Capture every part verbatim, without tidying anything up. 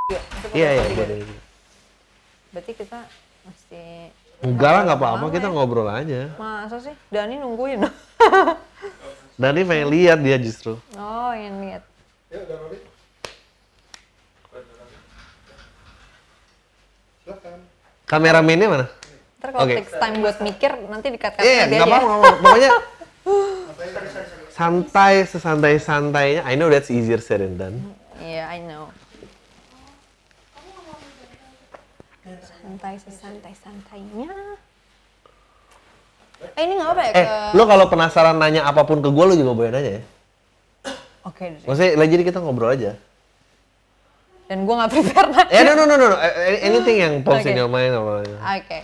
Iya iya boleh. Berarti kita mesti. Enggak lah nggak apa-apa kita ya. Ngobrol aja. Masa sih? Dani nungguin. Dani pengen lihat dia justru. Oh ingin lihat. Ya udah Rory. Silakan. Kameramennya mana? Ntar kalau okay. Takes time buat mikir nanti dikat-katnya yeah, dia aja. Iya nggak apa-apa. Pokoknya santai sesantai-santainya. I know that's easier said than done. Iya yeah, I know. Santai sesantai-santainya. Eh ini nggak apa ya? Eh, ke... lo kalau penasaran nanya apapun ke gue, lo juga boleh nanya ya. Oke. Okay, maksudnya lagi jadi kita ngobrol aja. Dan gue nggak prepare nanya. Eh, no no no no, anything yang pops in your mind apa? Oke. Okay.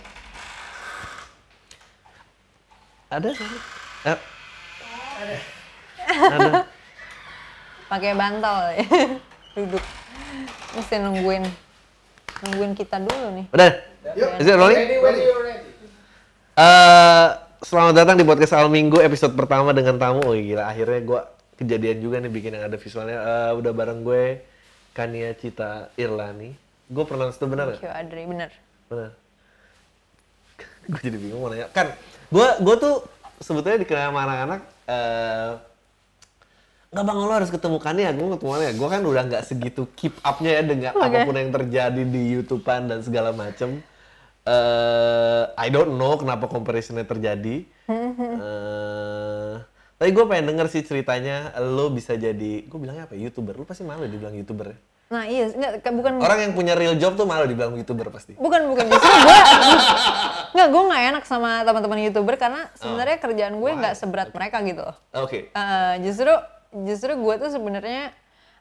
Ada sih. Eh. Ada. Ada. Pakai bantal ya. Duduk. Mesti nungguin. Nungguin kita dulu nih. Udah? Is it rolling? Ready, ready, ready. Uh, selamat datang di podcast Al Minggu episode pertama dengan tamu. Oh gila, akhirnya gue kejadian juga nih bikin yang ada visualnya. Uh, udah bareng gue, Kania Cita Irlani. Gue pernah itu benar nggak? Thank you Adri, benar. Benar. Gue jadi bingung mau nanya. Kan, gue gue tuh sebetulnya dikenal sama anak-anak. Uh, Nggak bang, lo harus ketemu Kania, gue ketemu Kania. Gue kan udah nggak segitu keep up-nya ya dengan okay. apapun yang terjadi di YouTube-an dan segala macem. Uh, I don't know kenapa comparison-nya terjadi. uh, tapi gue pengen denger sih ceritanya lo bisa jadi, gue bilangnya apa, YouTuber. Lo pasti malu dibilang YouTuber ya? Nah iya, nggak, bukan... Orang yang punya real job tuh malu dibilang YouTuber pasti. Bukan, bukan. Justru gue, nggak, gue nggak enak sama teman-teman YouTuber karena sebenarnya oh. kerjaan gue nggak seberat okay. mereka gitu loh. Oke. Okay. Uh, justru Justru gue tuh sebenarnya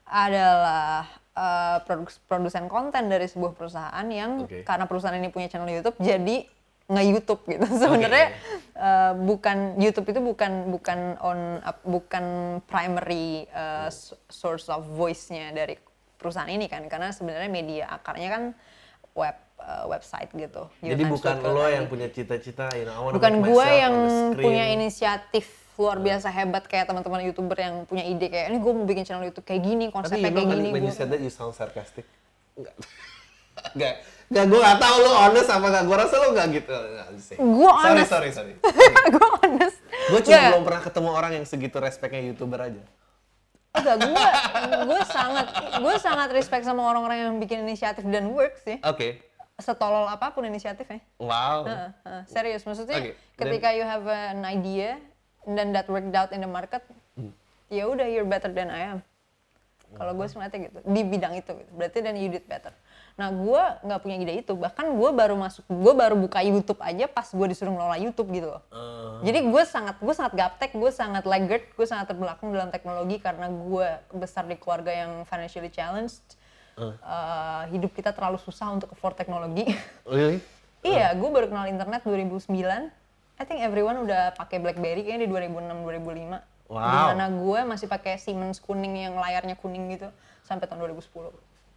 adalah uh, produk, produsen konten dari sebuah perusahaan yang okay. karena perusahaan ini punya channel YouTube jadi nge-YouTube gitu. Sebenarnya okay. uh, bukan YouTube itu bukan bukan on uh, bukan primary uh, source of voice-nya dari perusahaan ini kan, karena sebenarnya media akarnya kan web uh, website gitu. Jadi bukan lo yang punya cita-cita, you know, bukan gue yang punya inisiatif luar biasa hebat kayak teman-teman YouTuber yang punya ide kayak ini gue mau bikin channel YouTube kayak gini, konsepnya kayak gini. Tapi when you said that you sound sarcastic. Enggak. Enggak. Enggak, gue enggak tahu lo honest apa enggak. Gue rasa lo enggak gitu. Gue honest. Sorry, sorry, sorry. Gue honest. Gue cuma yeah. belum pernah ketemu orang yang segitu respectnya YouTuber aja. Enggak, gue gue sangat gue sangat respect sama orang-orang yang bikin inisiatif dan work sih. Oke. Okay. Setolol apapun inisiatifnya. Wow. Uh, uh, serius, maksudnya okay. ketika Then, you have an idea and then that worked out in the market, hmm. ya udah you're better than I am. Kalau gue sebenarnya gitu di bidang itu, gitu. Berarti then you did better. Nah gue nggak punya ide itu, bahkan gue baru masuk, gue baru buka YouTube aja pas gue disuruh ngelola YouTube gitu loh. Uh. Jadi gue sangat, gue sangat gaptek, gue sangat laggard, gue sangat terbelakang dalam teknologi karena gue besar di keluarga yang financially challenged. Uh. Uh, hidup kita terlalu susah untuk afford teknologi. Really? Iya, gue baru kenal internet dua ribu sembilan. I think everyone udah pakai BlackBerry kayaknya di dua ribu enam dua ribu lima. Wow. Dimana gue masih pakai Siemens kuning yang layarnya kuning gitu sampai tahun dua ribu sepuluh.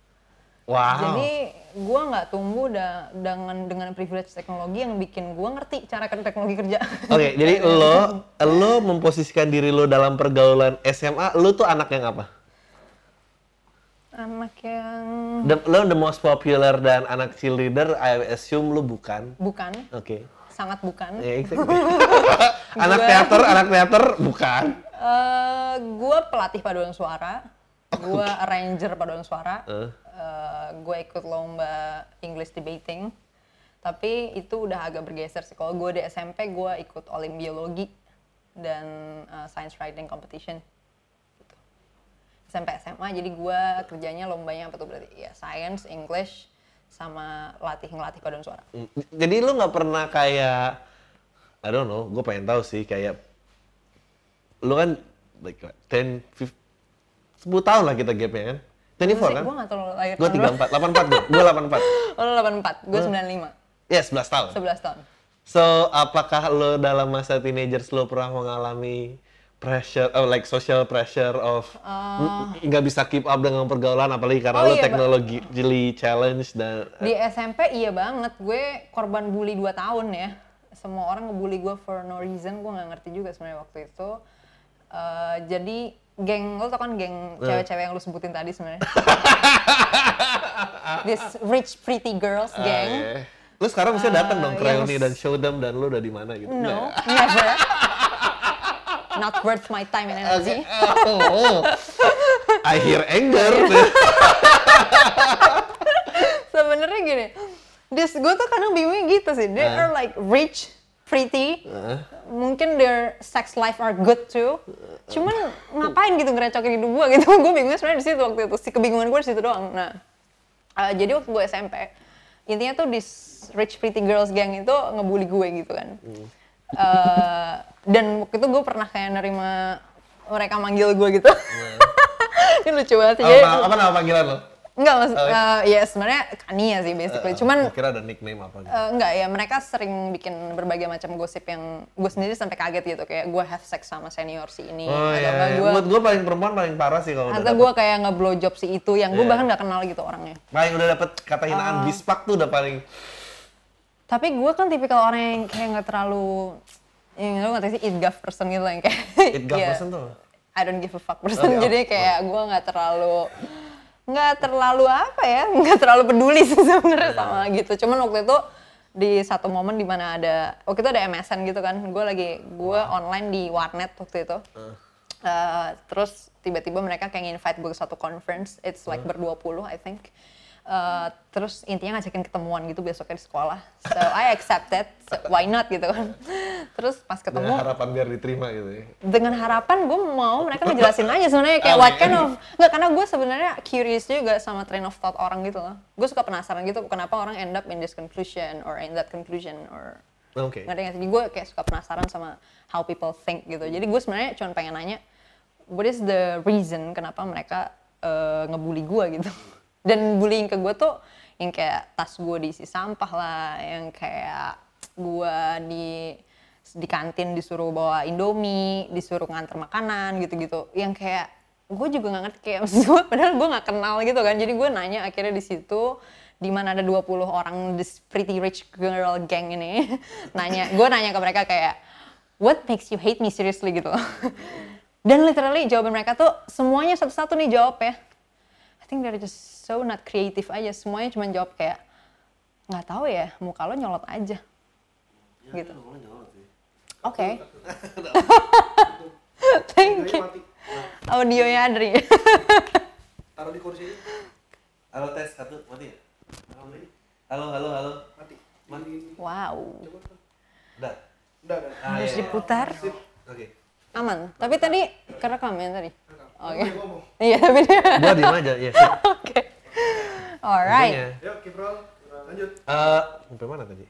Wow. Jadi gue nggak tumbuh da- dengan dengan privilege teknologi yang bikin gue ngerti cara teknologi kerja. Oke, okay, jadi lo lo memposisikan diri lo dalam pergaulan S M A, lo tuh anak yang apa? Anak yang... The, lo the most popular dan anak cheerleader, I assume lo bukan? Bukan. Oke. Okay. Sangat bukan. Yeah, exactly. anak teater, anak teater bukan. Uh, gue pelatih paduan suara, gue arranger paduan suara, uh. uh, gue ikut lomba English debating, tapi itu udah agak bergeser sih. Kalau gue di S M P gue ikut olim biologi dan uh, science writing competition. Gitu. S M P S M A jadi gue kerjanya lombanya apa tuh berarti? Ya science, English, sama latih ngelatih paduan suara. Jadi lu nggak pernah kayak, I don't know, gue pengen tahu sih kayak, lu kan like ten, fifteen, sepuluh tahun lah kita gapnya kan? dua puluh empat kan? Gue nggak tahu lahir gue tiga puluh empat, delapan puluh empat gue, gue delapan puluh empat. Oh lu delapan puluh empat, gue sembilan puluh lima. Iya, yeah, sebelas tahun. sebelas tahun. So, apakah lu dalam masa teenagers lu pernah mengalami pressure, oh, like social pressure of nggak uh, bisa keep up dengan pergaulan apalagi karena oh lo iya, teknologi ba- challenge dan di S M P iya banget, gue korban bully dua tahun ya. Semua orang ngebully gue for no reason, gue nggak ngerti juga sebenarnya waktu itu. Uh, jadi geng, lo tau kan geng uh. cewek-cewek yang lo sebutin tadi sebenarnya. this rich pretty girls Ah, gang. iya. Lu sekarang mesti datang dong ke yang reuni dan show them dan lu udah di mana gitu. No, Nggak? never. Not worth my time and energy. Oh, I hear anger. Sebenarnya gini, this gue tuh kadang bingungnya gitu sih. They Uh. are like rich, pretty, Uh. mungkin their sex life are good too. Cuman ngapain gitu ngerecokin hidup gue gitu? Gue bingungnya sebenarnya di situ waktu itu. Si kebingungan gue di situ doang. Nah, uh, jadi waktu gue S M P, intinya tuh this rich pretty girls gang itu ngebully gue gitu kan. Hmm. Uh, dan waktu itu gue pernah kayak nerima mereka manggil gue gitu. Ini lucu banget sih. Jadi- apa, apa nama panggilan lo? Enggak, maksud, Oh, uh, ya sebenarnya Kania sih basically. Cuman Gua kira ada nickname apa gitu. uh, enggak ya, mereka sering bikin berbagai macam gosip yang gue sendiri sampai kaget gitu. Kayak gue have sex sama senior si ini. Oh atau iya, apa iya. gue, Buat gue paling perempuan paling parah sih kalau udah atau dapet, gue kayak nge-blow job si itu yang gue Iya. bahkan nggak kenal gitu orangnya. paling udah dapet kata hinaan Oh. bispak tuh udah paling Tapi gue kan tipikal orang yang kayak nggak terlalu, yang lu ngerti sih, eat guff person gitu lah yang kayak it gak ya, person tuh. I don't give a fuck person. Oh, iya. Jadi kayak gue nggak terlalu nggak terlalu apa ya, nggak terlalu peduli sih sebenarnya sama gitu. Cuman waktu itu di satu momen di mana ada, waktu itu ada M S N gitu kan, gue lagi gue online di warnet waktu itu. Uh, terus tiba-tiba mereka kayak invite gue ke satu conference, it's like berdua puluh I think. Uh, terus intinya ngajakin ketemuan gitu besoknya di sekolah. So I accepted, so why not gitu kan. Terus pas ketemu Dengan harapan biar diterima gitu ya. dengan harapan gue mau mereka ngejelasin aja sebenarnya kayak what kind of, nggak, karena gue sebenarnya curious juga sama train of thought orang gitu loh. Gue suka penasaran gitu kenapa orang end up in this conclusion or in that conclusion or Oke. ngerti nggak sih? Jadi gue kayak suka penasaran sama how people think gitu. Jadi gue sebenarnya cuma pengen nanya what is the reason kenapa mereka uh, ngebully gue gitu. Dan bullying ke gue tuh yang kayak tas gue diisi sampah lah, yang kayak gue di di kantin disuruh bawa Indomie, disuruh nganter makanan gitu-gitu. Yang kayak gue juga nggak ngerti kayak maksud gue, padahal gue nggak kenal gitu kan. Jadi gue nanya akhirnya di situ di mana ada dua puluh orang this pretty rich girl gang ini nanya, gue nanya ke mereka kayak what makes you hate me seriously gitu. Dan literally jawaban mereka tuh semuanya satu-satu nih jawab ya. I think they're just so not creative aja. Semuanya cuma jawab kayak nggak tahu ya, muka lo nyolot aja. Gitu. Oke. Thank you. Mati. Audionya Adri. Taruh di kursi. Halo tes satu mati ya? Halo halo halo. Mati. Mati. Wow. Udah. Udah, udah. Ah, Harus iya, iya. diputar. Oke. Aman. Tapi tadi kerekam ya tadi. Oke. Dia ngomong. Iya tapi dia. Gua diem aja ya. sip. Oke. Alright. Intinya, Yuk, keep roll. Lanjut. Eh, sampai mana tadi?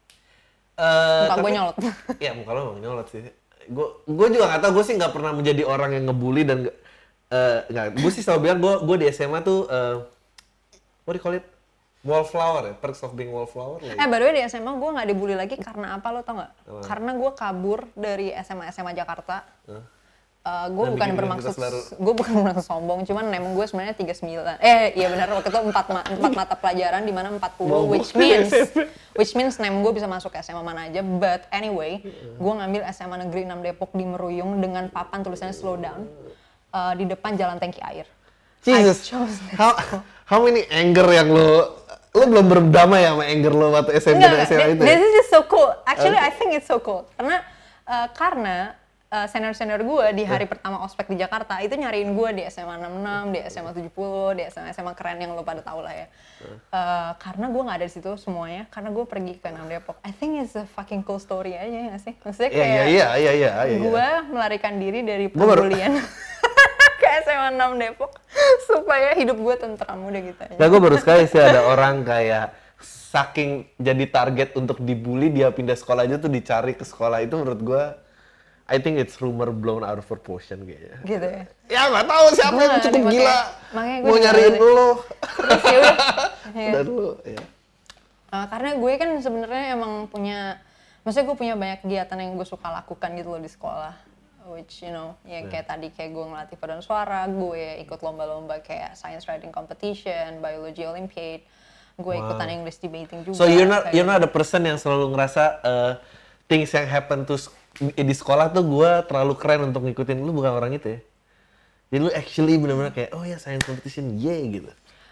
Eh, Muka gue tapi- nyolot. Iya muka lo emang nyolot sih. Gue gue juga nggak tahu, gue sih nggak pernah menjadi orang yang ngebully dan nggak eh, nggak. Gue sih selalu bilang gue gue di S M A tuh eh, what do you call it? Wallflower ya, perks of being wallflower lah. Eh, by the way di S M A gue nggak dibully lagi karena apa lo tau nggak? Apa? Karena gue kabur dari S M A S M A Jakarta. Hah? Eh, gue Dan bukan bikin bermaksud, identitas baru. gue bukan bermaksud sombong, cuman emang gue sebenarnya tiga puluh sembilan. Eh, iya benar waktu itu empat ma- empat mata pelajaran di mana empat puluh, Bobo. which means which means nem gue bisa masuk S M A mana aja. But anyway, gue ngambil S M A Negeri enam Depok di Meruyung dengan papan tulisannya slow down eh, di depan jalan tangki air. Jesus, I chose that how how many anger yang lo lo belum berdamai sama anger lo waktu S M P dan S M A itu? ya? This is just so cool. Actually, I think it's so cool. Karena uh, karena uh, senior-senior gue di hari pertama ospek di Jakarta itu nyariin gue di S M A enam puluh enam, di S M A tujuh puluh, di S M A S M A keren yang lo pada tau lah ya. Uh, karena gue nggak ada di situ semuanya, karena gue pergi ke enam Depok. I think it's a fucking cool story aja ya nggak sih? Maksudnya Iya kayak iya iya iya iya. iya. gue melarikan diri dari Gua baru- pembulian ke S M A enam Depok supaya hidup gue tentram udah gitu aja. Nah, gue baru sekali sih ada orang kayak saking jadi target untuk dibully dia pindah sekolah aja tuh dicari ke sekolah itu menurut gue I think it's rumor blown out of proportion kayaknya. Gitu ya. Ya nggak tahu siapa Gua yang nggak cukup ngerti, gila makanya- makanya gua mau juga nyariin nggak lo Terus ya udah. Iya. dan lo ya. Uh, karena gue kan sebenarnya emang punya, maksudnya gue punya banyak kegiatan yang gue suka lakukan gitu loh di sekolah, which you know, ya kayak tadi kayak gue ngelatih paduan suara, gue ikut lomba-lomba kayak science writing competition, biology olympiad, gue ikutan English debating juga. So you're not kayak- you're not the person yang selalu ngerasa uh, things yang happen to sk- di sekolah tuh gue terlalu keren untuk ngikutin. Lu bukan orang itu ya? Jadi lu actually benar-benar kayak oh ya science competition, yeah gitu.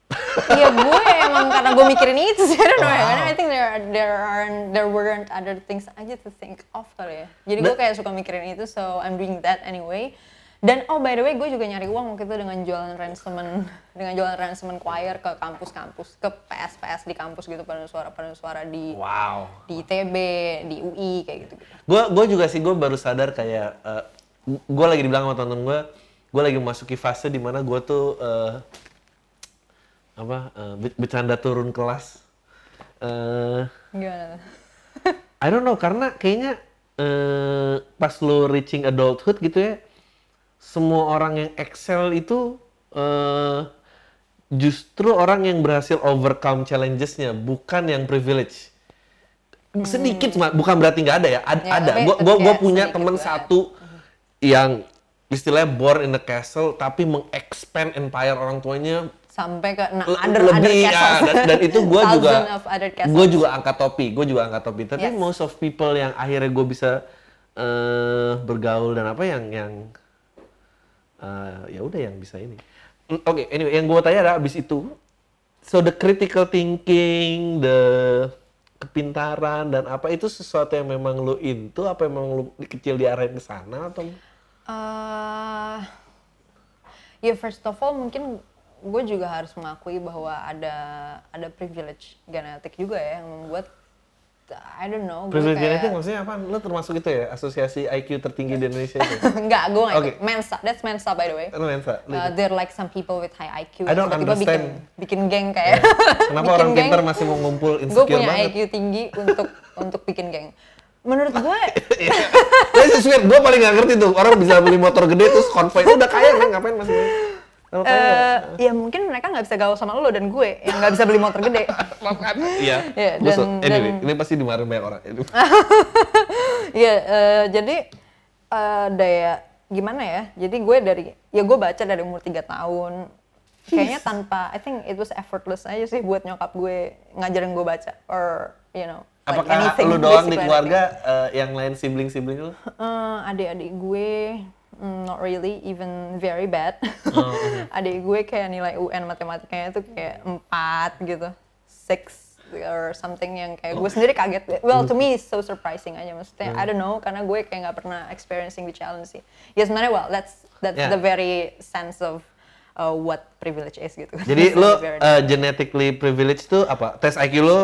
Iya gue emang karena gue mikirin itu sih, I don't know ya. Wow. Karena I think there there aren't there weren't other things aja to think of kali ya. Jadi gue Nah. kayak suka mikirin itu, so I'm doing that anyway. Dan oh by the way gue juga nyari uang waktu itu dengan jualan ransemen, dengan jualan ransemen choir ke kampus-kampus, ke P S P S di kampus gitu, paduan suara paduan suara di Wow. di I T B, di U I kayak gitu. Gue gue juga sih, gue baru sadar kayak uh, gue lagi dibilang sama temen gue, gue lagi memasuki fase di mana gue tuh uh, apa uh, be- bercanda turun kelas. Uh, Gimana? I don't know, karena kayaknya uh, pas lo reaching adulthood gitu ya, semua orang yang excel itu uh, justru orang yang berhasil overcome challenges-nya, bukan yang privilege. Sedikit cuma, bukan berarti nggak ada ya, Ad- Ya, ada. tapi- Gue tapi gue kayak punya sedikit temen banget. satu yang istilahnya born in the castle, tapi meng-expand empire orang tuanya Sampai ke nah, le- other other lebih ya, castles. dan, dan itu gue juga Thousand of other castles. gue juga angkat topi, gue juga angkat topi. Tapi Yes. most of people yang akhirnya gue bisa eh, bergaul dan apa yang yang eh, ya udah yang bisa ini. Mm, Oke, anyway, yang gue tanya adalah abis itu, so the critical thinking, the kepintaran dan apa itu sesuatu yang memang lo into, apa memang lo di kecil diarahin ke sana atau? Uh, ya first of all mungkin gue juga harus mengakui bahwa ada ada privilege genetik juga ya yang membuat I don't know gue Privilege kayak genetik maksudnya apa? Lo termasuk itu ya, asosiasi I Q tertinggi di Indonesia itu? enggak gue nggak Oke. ikut. Mensa, that's Mensa by the way. Lo Mensa? Lo Uh, ikut? they're like some people with high I Q I don't yang tiba-tiba bikin understand. bikin geng kayak Kenapa bikin orang geng. pintar masih mau ngumpul Gue insecure punya banget? I Q tinggi untuk untuk bikin geng. Menurut gue That's just weird. Gue paling gak ngerti tuh, orang bisa beli motor gede terus konvoy. Udah kaya kan, ngapain masih beli? Kalau kaya, eh, ya mungkin mereka nggak bisa gaul sama lo dan gue yang nggak bisa beli motor gede. iya. Ya, Gua so- dan- anyway, dan- ini pasti dimarahin banyak orang. Iya, eh, jadi eh, daya gimana ya? Jadi gue dari ya gue baca dari umur tiga tahun. Kayaknya tanpa, I think it was effortless aja sih buat nyokap gue ngajarin gue baca or you know. like Apakah anything, lu doang di basically keluarga, eh, yang lain sibling-sibling lu? anything. Eh, adik-adik gue mm, not really, even very bad. Oh, Adik gue kayak nilai U N matematikanya tuh kayak empat gitu, six or something yang kayak gue sendiri kaget. Well, to me it's so surprising aja, maksudnya I don't know karena gue kayak nggak pernah experiencing the challenge sih. Ya sebenarnya well, that's that's Yeah. the very sense of uh, what privilege is gitu. Jadi It's lu very- eh, genetically privileged tuh apa? Tes I Q lu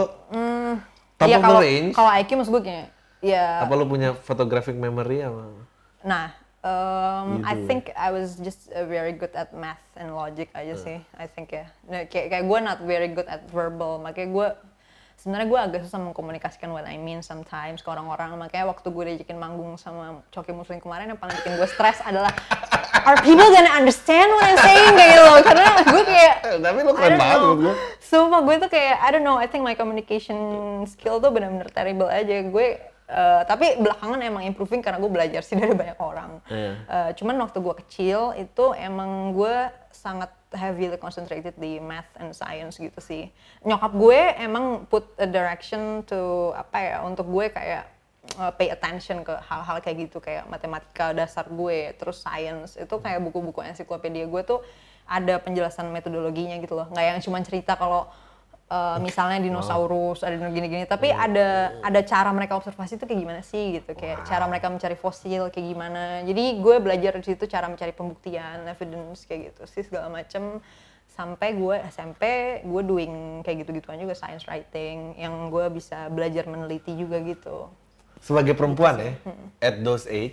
top Iya, of the kalau range? kalau I Q maksud gue kayak ya. Apa lu punya photographic memory apa? Nah, um, I Gitu. think I was just uh, very good at math and logic aja sih. I think ya. Nah, kayak kayak gue not very good at verbal. Makanya gue sebenarnya gue agak susah mengkomunikasikan what I mean sometimes ke orang-orang. Makanya waktu gue diajakin manggung sama Coki Muslim kemarin yang paling bikin gue stres adalah are people gonna understand what I'm saying kayak gitu. Karena gue kayak Eh, tapi lu I keren don't banget know. menurut gue. Sumpah gue tuh kayak I don't know, I think my communication skill tuh benar-benar terrible aja. Gue uh, tapi belakangan emang improving karena gue belajar sih dari banyak orang. Iya. Uh, cuman waktu gue kecil itu emang gue sangat heavily concentrated di math and science gitu sih. Nyokap gue emang put a direction to apa ya untuk gue kayak uh, pay attention ke hal-hal kayak gitu kayak matematika dasar gue, terus science itu kayak buku-buku ensiklopedia gue tuh ada penjelasan metodologinya gitu loh, nggak yang cuma cerita kalau uh, misalnya dinosaurus ada gini-gini, tapi ada ada cara mereka observasi itu kayak gimana sih gitu, kayak cara mereka mencari fosil kayak gimana. Jadi gue belajar di situ cara mencari pembuktian, evidence kayak gitu sih segala macem. Sampai gue S M P gue doing kayak gitu-gituan juga, science writing yang gue bisa belajar meneliti juga gitu. Sebagai perempuan ya, at those age,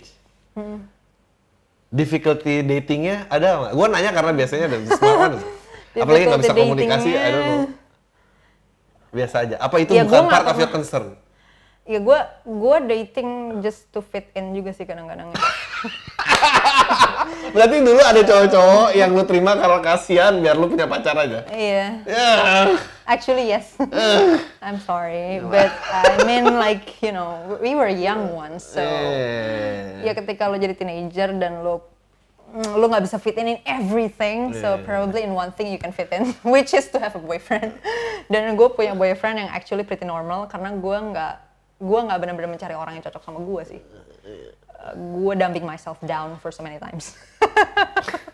difficulty datingnya ada nggak? Gue nanya karena biasanya ada smart kan, apalagi nggak bisa Difficulty komunikasi, I don't know. datingnya. Biasa aja. Apa itu Ya, bukan gua nggak part of pernah- your concern? Ya gue gue dating just to fit in juga sih kadang-kadang. Berarti dulu ada cowok-cowok yang lu terima karena kasihan biar lu punya pacar aja. Iya. Ya. Actually yes. I'm sorry, but I mean like you know we were young ones, so Eh. ya ketika lo jadi teenager dan lo mm, lo nggak bisa fit in in everything, so Yeah. probably in one thing you can fit in, which is to have a boyfriend. Dan gue punya boyfriend yang actually pretty normal karena gue nggak gue nggak benar-benar mencari orang yang cocok sama gue sih. Uh, gue dumping myself down for so many times.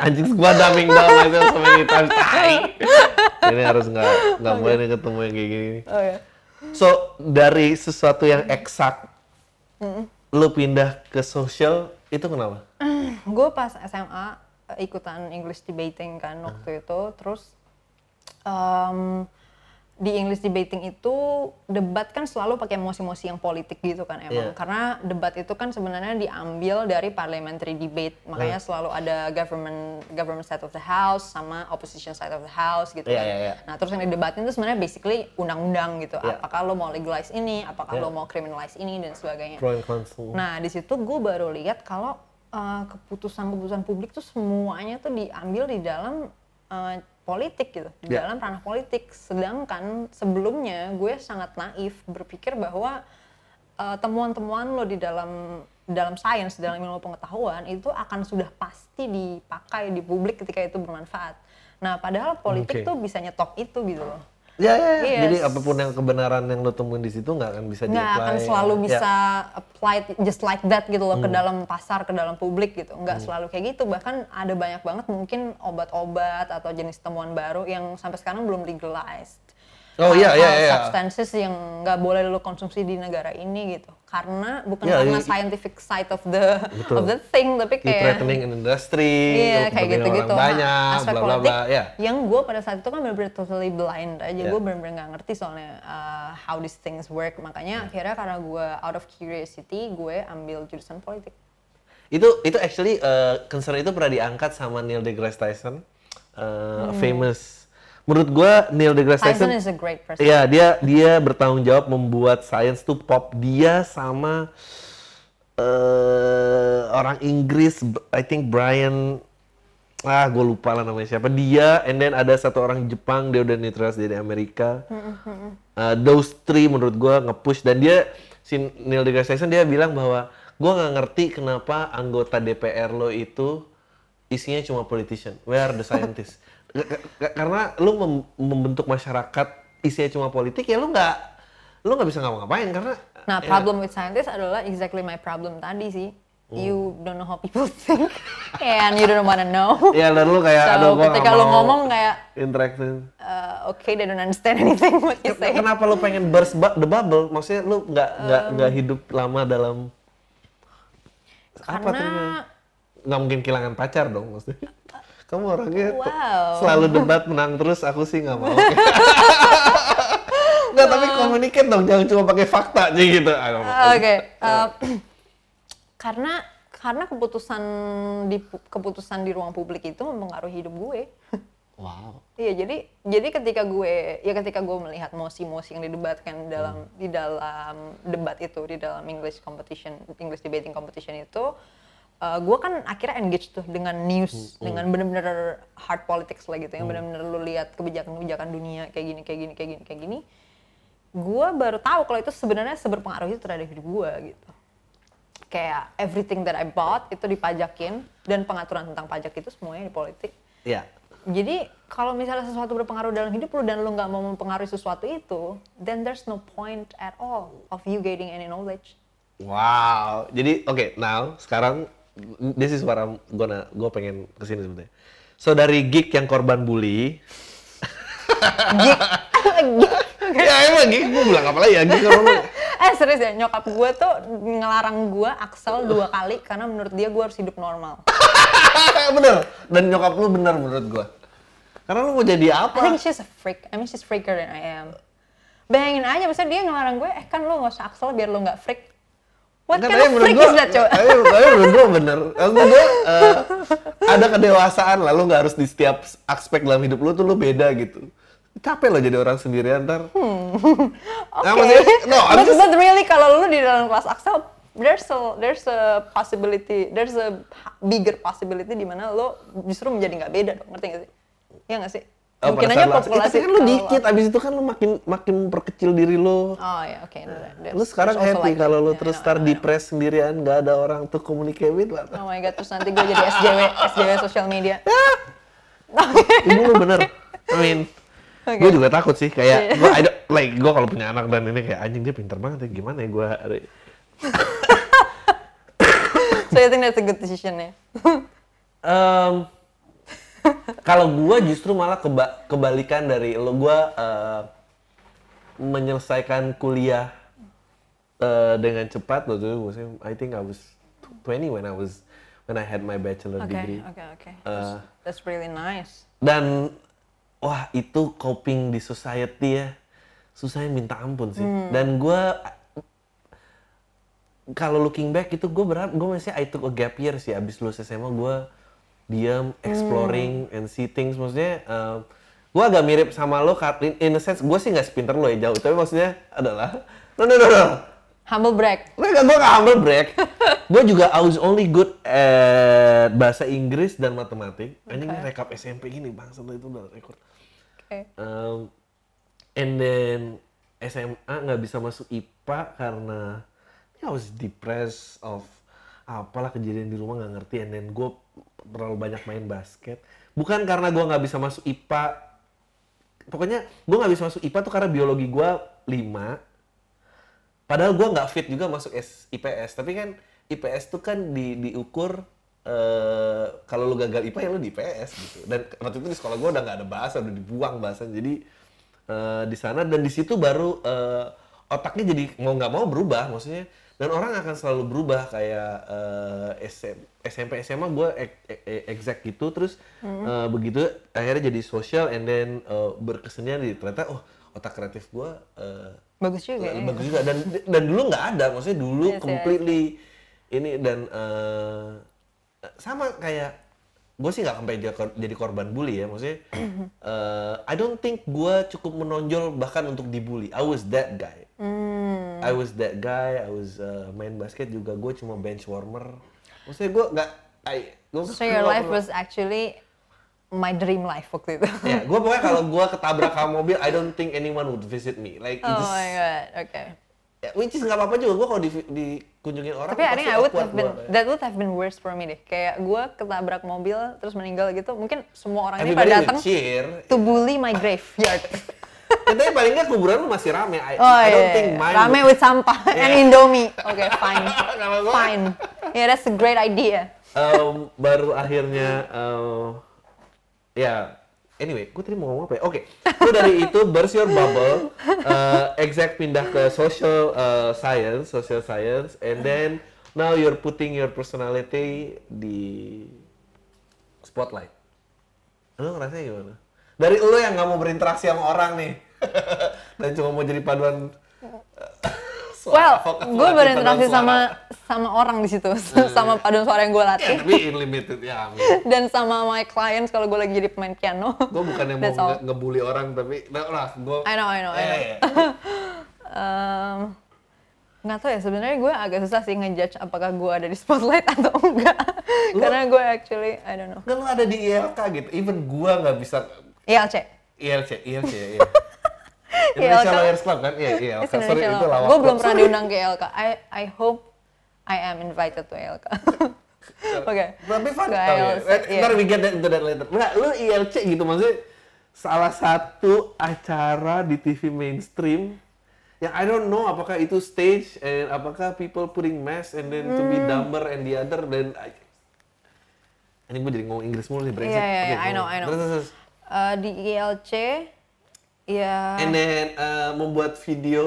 Anjing gua dumbing down myself so many times. Tai. Ini harus nggak nggak boleh nih ketemu yang kayak gini. Oh ya. So dari sesuatu yang eksak, lu pindah ke sosial itu kenapa? Gue pas S M A eh, ikutan English debating kan waktu itu, terus em, di English debating itu debat kan selalu pakai emosi-emosi yang politik gitu kan emang, Iya. karena debat itu kan sebenarnya diambil dari parliamentary debate, makanya Hmm. selalu ada government government side of the house sama opposition side of the house gitu Iya, kan. iya, iya. Nah terus yang didebatin itu sebenarnya basically undang-undang gitu, Iya. apakah lo mau legalize ini, apakah Iya. lo mau criminalize ini dan sebagainya. Pro and cons. Nah di situ gue baru lihat kalau uh, keputusan-keputusan publik tuh semuanya tuh diambil di dalam uh, politik gitu, di Ya. dalam ranah politik. Sedangkan sebelumnya gue sangat naif berpikir bahwa uh, temuan-temuan lo di dalam dalam sains, dalam ilmu pengetahuan itu akan sudah pasti dipakai di publik ketika itu bermanfaat. Nah padahal politik Oke. tuh bisa nyetop itu gitu loh. Ya, ya, ya. Yes. Jadi apapun yang kebenaran yang lo temuin di situ nggak akan bisa Nggak di-apply. akan selalu Ya. bisa apply just like that gitu loh ke dalam pasar, ke dalam publik gitu. Nggak selalu kayak gitu. Bahkan ada banyak banget mungkin obat-obat atau jenis temuan baru yang sampai sekarang belum legalized. Oh, iya, Hal-hal iya, iya. substances yang nggak boleh lo konsumsi di negara ini gitu. Karena bukan Iya, karena i- scientific side of the Betul. of the thing, tapi Di kayak threatening in industry, iya, kayak kepentingan gitu-gitu. orang Nah, banyak, aspek bla bla politik bla. Ya. yang gue pada saat itu kan benar-benar totally blind aja. Ya. Gue benar-benar nggak ngerti soalnya uh, how these things work. Makanya akhirnya karena gue out of curiosity, gue ambil jurusan politik. Itu itu actually uh, concern itu pernah diangkat sama Neil deGrasse Tyson, uh, famous. Menurut gua Neil deGrasse Tyson Tyson, is a great person. iya dia dia bertanggung jawab membuat science tuh pop. Dia sama uh, orang Inggris, I think Brian, ah gue lupa lah namanya siapa. Dia, and then ada satu orang Jepang, dia udah naturalisasi dari Amerika. Uh, those three menurut gua nge-push, dan dia si Neil deGrasse Tyson dia bilang bahwa gua nggak ngerti kenapa anggota D P R lo itu isinya cuma politician. Where are the scientists? K- k- karena lu mem- membentuk masyarakat isinya cuma politik, ya lu nggak lu nggak bisa ngapa-ngapain karena Nah, ya, problem with scientists adalah exactly my problem tadi sih. You don't know how people think and you don't wanna know. ya dan lu kayak So, aduh gua nggak ketika lu mau ngomong kayak interaksi. uh, okay, they don't understand anything what you say. Kenapa lu pengen burst bu- the bubble? Maksudnya lu nggak nggak nggak hidup lama dalam apa Karena tuh? Nggak mungkin kehilangan pacar dong maksudnya. Kamu orangnya tuh Wow. selalu debat menang terus, aku sih nggak mau. Nggak, tapi communicate dong, jangan cuma pakai fakta aja gitu. Ah, nggak mau. Oke, uh, karena karena keputusan di pu- keputusan di ruang publik itu mempengaruhi hidup gue. Wow. Iya, jadi jadi ketika gue ya ketika gue melihat mosi-mosi yang didebatkan dalam di dalam debat itu, di dalam English competition, English debating competition itu, uh, gue kan akhirnya engage tuh dengan news, dengan benar-benar hard politics lah gitu, yang benar-benar lu lihat kebijakan-kebijakan dunia kayak gini, kayak gini, kayak gini, kayak gini. Gue baru tahu kalau itu sebenarnya seberpengaruh itu terhadap hidup gue gitu. Kayak everything that I bought itu dipajakin, dan pengaturan tentang pajak itu semuanya di politik. Iya. Jadi kalau misalnya sesuatu berpengaruh dalam hidup lu dan lu nggak mau mempengaruhi sesuatu itu, then there's no point at all of you gaining any knowledge. Wow. Jadi oke, now sekarang this is what I'm gonna gue pengen kesini sebenarnya. So dari geek yang korban bully. Geek. Geek. Ya emang geek, gue bilang apa lagi ya geek kalau lu. Eh serius ya, nyokap gue tuh ngelarang gue Axel dua kali karena menurut dia gue harus hidup normal. Bener. Dan nyokap lu bener menurut gue. Karena lu mau jadi I apa? think she's a freak. I mean she's freaker than I am. Bayangin aja, misalnya dia ngelarang gue, eh kan lu nggak usah Axel biar lu nggak freak. What Nggak, kind tapi of menurut freak gua- is that, coba? Tapi tapi menurut gue bener. Maksudnya gue eh, ada kedewasaan lah, lu nggak harus di setiap aspek dalam hidup lu tuh lu beda gitu. Capek lo jadi orang sendirian ntar. Hmm. Nah, Oke. maksudnya, no, I'm but, just- but really kalau lu di dalam kelas Axel, there's a there's a possibility, there's a bigger possibility di mana lo justru menjadi nggak beda dong, ngerti nggak sih? Iya nggak sih? Oh, Mungkin pada aja saat lu- populasi. Eh, tapi kan lu kalau- dikit, abis itu kan lu makin makin memperkecil diri lu. Oh ya, oke. there's- Lu sekarang there's also happy like kalau that. lu Yeah, terus I know, start I know, I know. depressed sendirian, nggak ada orang to communicate with lah. Oh my god, terus nanti gue jadi S J W, S J W social media. Ibu lu bener. I mean, Oke. gue juga takut sih Iya. kayak gue, I don't- like gue kalau punya anak dan ini kayak anjing dia pinter banget ya, gimana ya gue. So I think that's a good decision ya. Um, Kalau gue justru malah keba- kebalikan dari lo, gue uh, menyelesaikan kuliah uh, dengan cepat waktu itu. Maksudnya, I think I was twenty when I was when I had my bachelor Oke, degree. oke, oke. Uh, That's really nice. Dan wah itu coping di society ya, susahnya minta ampun sih. Hmm. Dan gue kalau looking back itu gue berharap gue masih I took a gap year sih abis lulus S M A. Gue diam, exploring Hmm. and see things. Maksudnya uh, gue agak mirip sama lo, in, in a sense gue sih nggak sepinter lo ya jauh, tapi maksudnya adalah no no no no Humble brag. gue gak, gue gak humble brag. Gue juga I was only good at bahasa Inggris dan matematik. Ini Okay. rekap S M P gini bangsa itu udah record. Oke. Um, and then S M A nggak bisa masuk I P A karena ya I was depressed of apalah kejadian di rumah nggak ngerti. And then gue terlalu banyak main basket. Bukan karena gue nggak bisa masuk I P A. Pokoknya gue nggak bisa masuk I P A tuh karena biologi gue lima. Padahal gue nggak fit juga masuk S I P S. Tapi kan I P S tuh kan di, diukur uh, kalau lu gagal I P A ya lu di I P S gitu. Dan waktu itu di sekolah gue udah nggak ada bahasa, udah dibuang bahasa. Jadi uh, di sana dan di situ baru uh, otaknya jadi mau nggak mau berubah, maksudnya. Dan orang akan selalu berubah kayak uh, S M, S M P S M A gue exact gitu, terus hmm. uh, begitu akhirnya jadi social and then uh, berkesenian di ternyata oh otak kreatif gue uh, Bagus juga ya. bagus juga dan dan dulu nggak ada, maksudnya dulu Yes, completely ini dan uh, sama kayak gue sih nggak sampai jadi kor- jadi korban bully ya, maksudnya uh, I don't think gue cukup menonjol bahkan untuk dibully. I was that guy. Hmm. I was that guy. I was uh, main basket juga gue cuma bench warmer. Maksudnya gue nggak. I gue So your life was actually my dream life waktu itu. ya, gue pokoknya kalau gue ketabrak sama mobil, I don't think anyone would visit me. Like, Oh it's, my god, okay. ya, which is nggak apa-apa juga. Gue kalau di, dikunjungin orang, Tapi I think I would have been, gua, that would have been worse for me deh. Kayak gue ketabrak mobil terus meninggal gitu, mungkin semua orang ini everybody pada would datang cheer. to bully my graveyard. Ya, tapi paling nggak kuburan lu masih rame. I, Oh I don't iya, think iya. mine Rame would- with sampah and Yeah. Indomie. Oke, okay, fine. Kalau gua- Fine. Yeah, that's a great idea. Um, baru akhirnya, uh, ya, anyway, gue tadi mau ngomong apa ya? Oke, lu dari itu burst your bubble, uh, exact pindah ke social uh, science, social science, and then now you're putting your personality di spotlight. Lu ngerasanya gimana? Dari lu yang nggak mau berinteraksi sama orang nih, dan cuma mau jadi paduan. Well, gue berinteraksi sama sama orang di situ, sama paduan suara yang gue Ya, latih, tapi unlimited ya, amin. dan sama my clients kalau gue lagi jadi pemain piano. Gue bukan yang mau That's all. nge- ngebully orang, tapi nah, lah gue. I know, I know, I know. Eh, Um, nggak tahu ya, sebenarnya gue agak susah sih ngejudge apakah gue ada di spotlight atau enggak. Karena gue actually, I don't know. kan lu ada di I L K gitu, even gue nggak bisa I L C. I L C, I L C ya. Iya. Indonesia I L K. Lawyers Club kan? Iya, iya. It's Sorry, Indonesia itu Law. lawak. Gue belum pernah Sorry. diundang ke I L K. I I hope I am invited to I L K. Oke. Tapi fun Ke tau ya. I L C, iya. Ntar we get that into that later. Nggak, lu I L C gitu maksudnya salah satu acara di T V mainstream yang I don't know apakah itu stage and apakah people putting mask and then to be Hmm. dumber and the other then I... ini gue jadi ngomong Inggris mulu nih brengsek. Iya, iya, Oke, iya, I know, ngomong. I know. Terus, terus, terus. Eh, di I L C, ya. And then uh, membuat video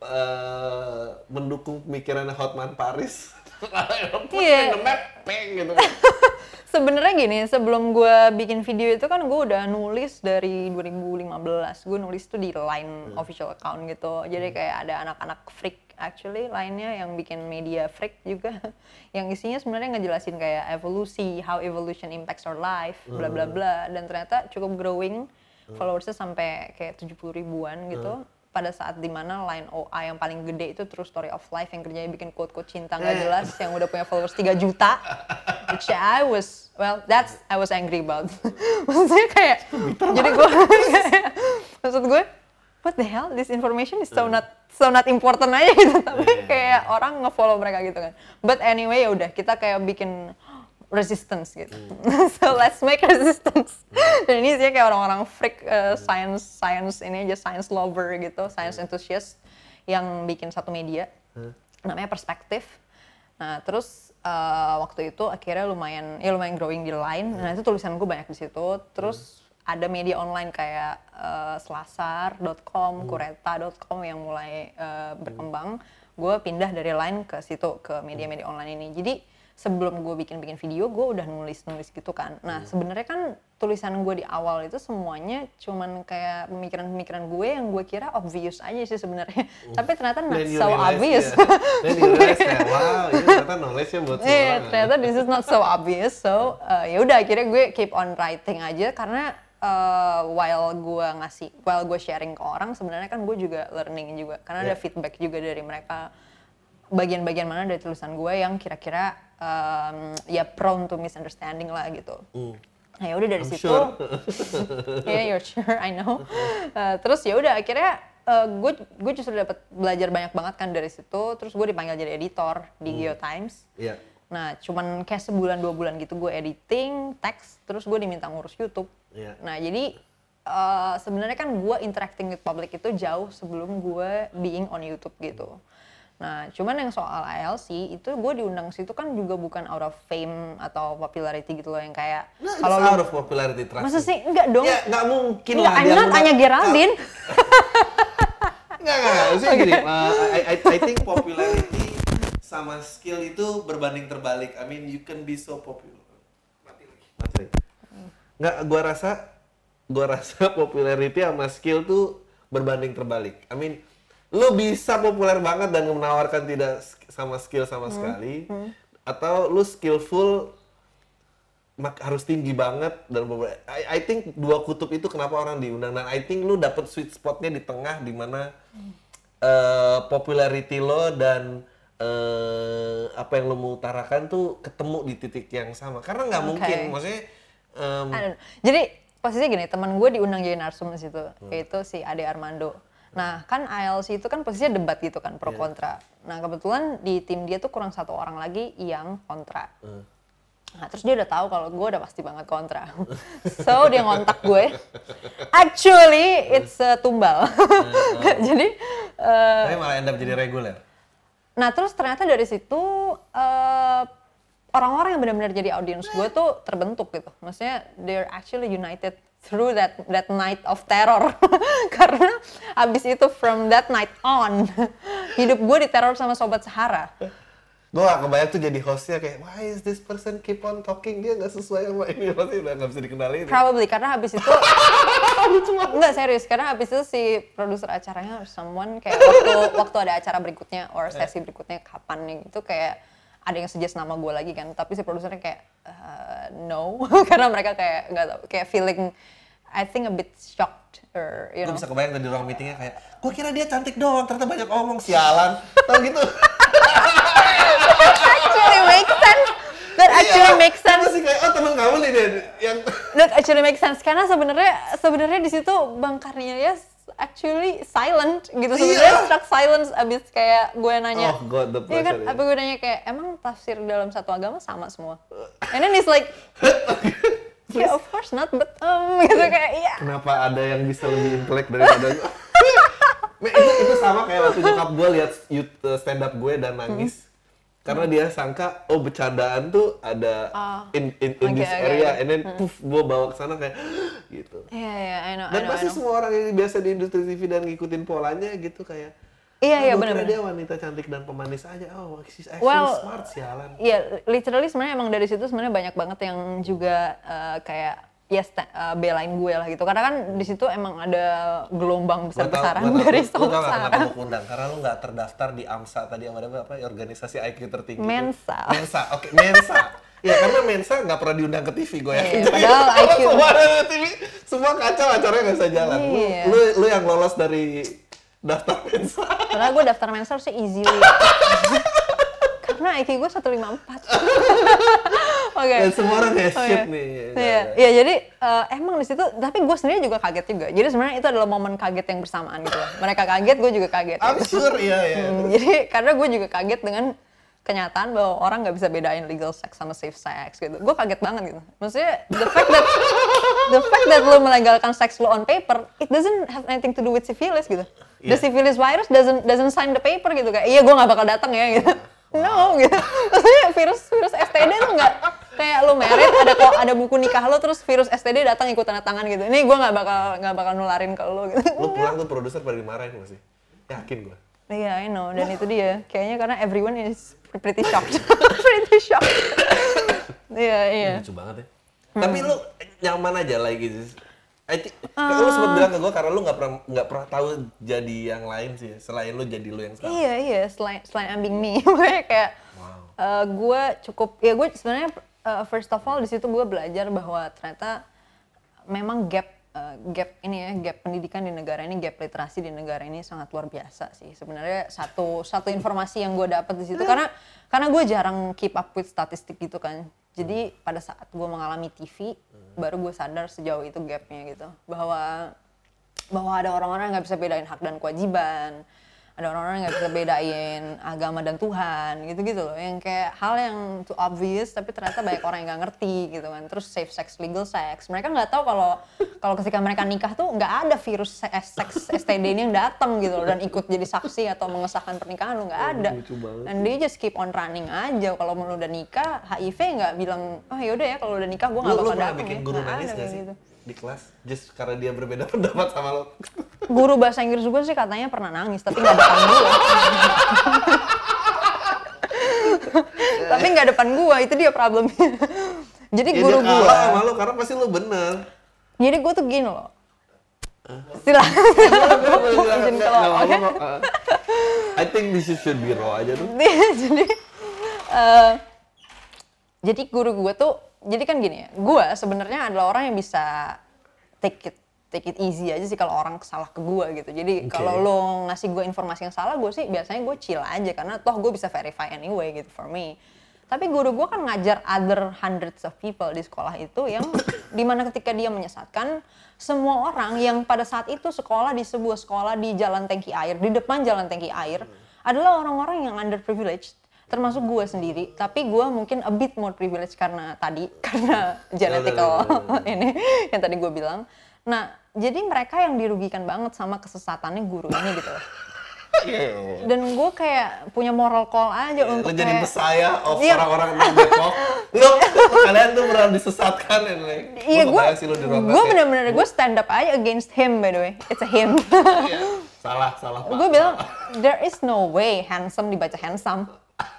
uh, mendukung pemikirannya Hotman Paris. Put Iya. in the map, peng gitu. Sebenarnya gini, sebelum gue bikin video itu kan gue udah nulis dari dua ribu lima belas. Gue nulis tuh di Line official account gitu. Jadi kayak ada anak-anak freak actually lainnya yang bikin media freak juga. Yang isinya sebenarnya ngejelasin kayak evolusi, how evolution impacts our life, bla bla bla. Dan ternyata cukup growing, followersnya sampai kayak tujuh puluh ribuan gitu. Pada saat dimana Line O A yang paling gede itu True Story of Life yang kerjanya bikin quote-quote cinta nggak jelas yang udah punya followers tiga juta. Which I was, well, that's I was angry about. Maksudnya kayak, jadi gue, maksud gue, what the hell, this information is so not so not important aja gitu. Tapi kayak orang nge-follow mereka gitu kan. But anyway ya udah kita kayak bikin resistance gitu. So let's make resistance. Dan ini sih kayak orang-orang freak uh, science science ini aja science lover gitu, science enthusiast yang bikin satu media namanya Perspektif. Nah terus uh, waktu itu akhirnya lumayan ya lumayan growing di line. Nah itu tulisan gue banyak di situ. Terus hmm. ada media online kayak uh, selasar dot com, hmm. kureta dot com yang mulai uh, berkembang. Gue pindah dari line ke situ ke media-media online ini. Jadi sebelum gue bikin-bikin video, gue udah nulis-nulis gitu kan. Nah, hmm. sebenarnya kan tulisan gue di awal itu semuanya cuman kayak pemikiran-pemikiran gue yang gue kira obvious aja sih sebenarnya. Hmm. Tapi ternyata not so obvious. Dan you realize kayak, wow, ini ternyata knowledge-nya buat semua yeah, orang. Ternyata this is not so obvious. So, uh, ya udah akhirnya gue keep on writing aja karena uh, while gue ngasih, while gue sharing ke orang, sebenarnya kan gue juga learning juga. Karena yeah. ada feedback juga dari mereka. Bagian-bagian mana dari tulisan gue yang kira-kira um, ya prone to misunderstanding lah gitu. Mm. Nah ya udah dari I'm situ, sure. yeah you're sure I know. Uh, terus ya udah akhirnya uh, gue gue justru dapat belajar banyak banget kan dari situ. Terus gue dipanggil jadi editor di mm. GeoTimes. Yeah. Nah cuman kayak sebulan dua bulan gitu gue editing teks, terus gue diminta ngurus YouTube. Yeah. Nah jadi uh, sebenarnya kan gue interacting with public itu jauh sebelum gue being on YouTube gitu. Nah, cuman yang soal I L C itu gue diundang situ kan juga bukan out of fame atau popularity gitu loh yang kayak nah, kalau out of popularity trust. Masa sih enggak dong? Ya nggak mungkin lah. I'm not Anya Geraldine. Enggak enggak enggak. Maksudnya okay. gini, uh, I, I I think popularity sama skill itu berbanding terbalik. I mean you can be so popular. Mati lagi. Mati lagi. Enggak, gue rasa gue rasa popularity sama skill tuh berbanding terbalik. I mean lu bisa populer banget dan menawarkan tidak sama skill sama hmm. sekali hmm. atau lu skillful mak harus tinggi banget dan I, I think dua kutub itu kenapa orang diundang dan I think lu dapet sweet spotnya di tengah di mana hmm. uh, popularity lo dan uh, apa yang lu mau utarakan tuh ketemu di titik yang sama karena nggak okay. mungkin maksudnya um, jadi posisinya gini teman gue diundang jadi narsum di situ hmm. yaitu si Ade Armando. Nah kan I L C itu kan posisinya debat gitu kan pro yeah. kontra. Nah kebetulan di tim dia tuh kurang satu orang lagi yang kontra. Uh. Nah terus dia udah tahu kalau gue udah pasti banget kontra. So dia ngontak gue. Actually it's uh, tumbal. Uh, uh. Jadi. Uh, Tapi malah end up jadi reguler. Nah terus ternyata dari situ uh, orang-orang yang benar-benar jadi audiens gue tuh terbentuk gitu. Maksudnya they're actually united through that that night of terror. Karena abis itu from that night on hidup gue diteror sama Sobat Sahara. Gue gak kebayang tuh jadi hostnya kayak why is this person keep on talking, dia gak sesuai sama ini, pasti udah gak bisa dikenalin. Probably karena habis itu enggak serius, karena habis itu si produser acaranya someone kayak waktu waktu ada acara berikutnya or sesi berikutnya kapan nih gitu kayak ada yang suggest nama gue lagi kan, tapi si produsernya kayak uh, no, karena mereka kayak nggak tahu, kayak feeling I think a bit shocked or you know. Gue bisa kebayang tadi ruang meetingnya kayak, gue kira dia cantik doang, ternyata banyak omong, sialan, tau gitu. Actually makes sense. That actually iya, makes sense. Masih kayak oh teman kamu nih deh yang. That actually makes sense karena sebenarnya sebenarnya di situ Bang Cornelius actually silent gitu sebenarnya yeah. Struck silence abis kayak gue nanya. Oh God, the iya kan? Yeah. Apa gue nanya kayak emang tafsir dalam satu agama sama semua? And then he's like, yeah of course not, but um gitu kayak iya. Yeah. Kenapa ada yang bisa lebih intelek daripada gue? itu itu sama kayak waktu nyokap gue lihat stand up gue dan nangis. Hmm. Karena dia sangka, oh bercandaan tuh ada uh, in in, in okay, this okay, area, okay. And then puff, gue bawa ke sana kayak gitu. Iya yeah, iya, yeah, I know. Dan I know, pasti I know. semua orang yang biasa di industri T V dan ngikutin polanya gitu kayak. Iya iya oh, benar-benar. Dia wanita cantik dan pemanis aja. Oh, she's actually well, smart sialan. Iya, yeah, literally sebenarnya emang dari situ sebenarnya banyak banget yang juga uh, kayak ya yes, uh, belain gue lah gitu. Karena kan di situ emang ada gelombang besar-besaran dari Sobat Sahara. Lu tau gak kenapa gue undang? Karena lu gak terdaftar di AMSA tadi yang ada apa? Organisasi I Q tertinggi. Mensa. Mensa, oke okay. Mensa. Ya karena Mensa gak pernah diundang ke T V gue yakin. Yeah, padahal I Q. Semua ada T V, semua kacau acaranya gak bisa jalan. Yeah. Lu, lu, lu yang lolos dari daftar Mensa. Padahal gue daftar Mensa harusnya easily. Karena I Q gue seratus lima puluh empat. Oke. Okay. Dan semua orang kayak shit okay. nih. Iya, ya, jadi uh, emang di situ, tapi gue sendiri juga kaget juga. Jadi sebenarnya itu adalah momen kaget yang bersamaan gitu. Mereka kaget, gue juga kaget. I'm sure, iya, iya. Hmm, jadi karena gue juga kaget dengan kenyataan bahwa orang nggak bisa bedain legal sex sama safe sex gitu. Gue kaget banget gitu. Maksudnya the fact that the fact that lo melegalkan seks lo on paper, it doesn't have anything to do with syphilis gitu. Yeah. The syphilis virus doesn't doesn't sign the paper gitu kayak. Iya, gue nggak bakal datang ya gitu. No gitu. Maksudnya virus virus S T D tuh nggak kayak lu merit ada kok ada buku nikah lo terus virus S T D datang ikut tanda tangan gitu. Ini gue nggak bakal nggak bakal nularin ke lo gitu. Lu pulang tuh produser pada dimarahin nggak sih? Yakin gue. Iya, I know. Dan itu dia. Kayaknya karena everyone is pretty shocked. pretty shocked. Iya, iya. Lucu banget ya. Tapi lu nyaman aja like gitu. I think, uh, lu sempat bilang ke gue karena lu nggak pernah nggak pernah tahu jadi yang lain sih selain lu jadi lu yang sekarang. Iya iya selain selain I'm being me, makanya kayak wow. uh, gue cukup ya gue sebenarnya uh, first of all di situ gue belajar bahwa ternyata memang gap uh, gap ini ya gap pendidikan di negara ini gap literasi di negara ini sangat luar biasa sih sebenarnya satu satu informasi yang gue dapat di situ karena karena gue jarang keep up with statistik gitu kan. Jadi pada saat gue mengalami T V, hmm. baru gue sadar sejauh itu gapnya gitu. Bahwa bahwa ada orang-orang yang gak bisa bedain hak dan kewajiban. Ada orang-orang yang gak bisa bedain agama dan Tuhan, gitu-gitu loh. Yang kayak hal yang too obvious, tapi ternyata banyak orang yang gak ngerti gitu kan. Terus safe sex, legal sex. Mereka gak tahu kalau kalau ketika mereka nikah tuh gak ada virus seks S T D ini yang datang gitu loh. Dan ikut jadi saksi atau mengesahkan pernikahan lo gak ada. And they just keep on running aja. Kalau lu udah nikah, H I V gak bilang, oh yaudah ya kalau udah nikah gue gak bakal datang. Lu pernah bikin guru nangis gak sih? Gitu. Di kelas, just karena dia berbeda pendapat sama lo. Guru bahasa Inggris gue sih katanya pernah nangis, tapi nggak depan gue. Tapi nggak depan gue, itu dia problemnya. Jadi ya, guru gue. Dia sama lo karena pasti lo bener. Jadi gue tuh gini loh. Silakan. Izin kalau oke. I think this should be raw aja tuh. Jadi, uh, jadi guru gue tuh. Jadi kan gini ya, gue sebenarnya adalah orang yang bisa take it take it easy aja sih kalau orang salah ke gue gitu. Jadi okay. kalau lo ngasih gue informasi yang salah, gue sih biasanya gue chill aja karena toh gue bisa verify anyway gitu for me. Tapi guru gue kan ngajar other hundreds of people di sekolah itu yang dimana ketika dia menyesatkan semua orang yang pada saat itu sekolah di sebuah sekolah di Jalan Tangki Air, di depan Jalan Tangki Air adalah orang-orang yang underprivileged. Termasuk gue sendiri, tapi gue mungkin a bit more privilege karena tadi, karena genetical ini yang tadi gue bilang. Nah, jadi mereka yang dirugikan banget sama kesesatannya guru ini gitu loh. Dan gue kayak punya moral call aja yeah, untuk kayak... Lo jadi Messiah of iya. orang-orang di Depok. Lo, kalian tuh beneran disesatkan ya. Like, iya, gue gue bener-bener, gue stand up aja against him by the way. It's a him. yeah. Salah, salah Pak. Gue bilang, there is no way handsome dibaca handsome.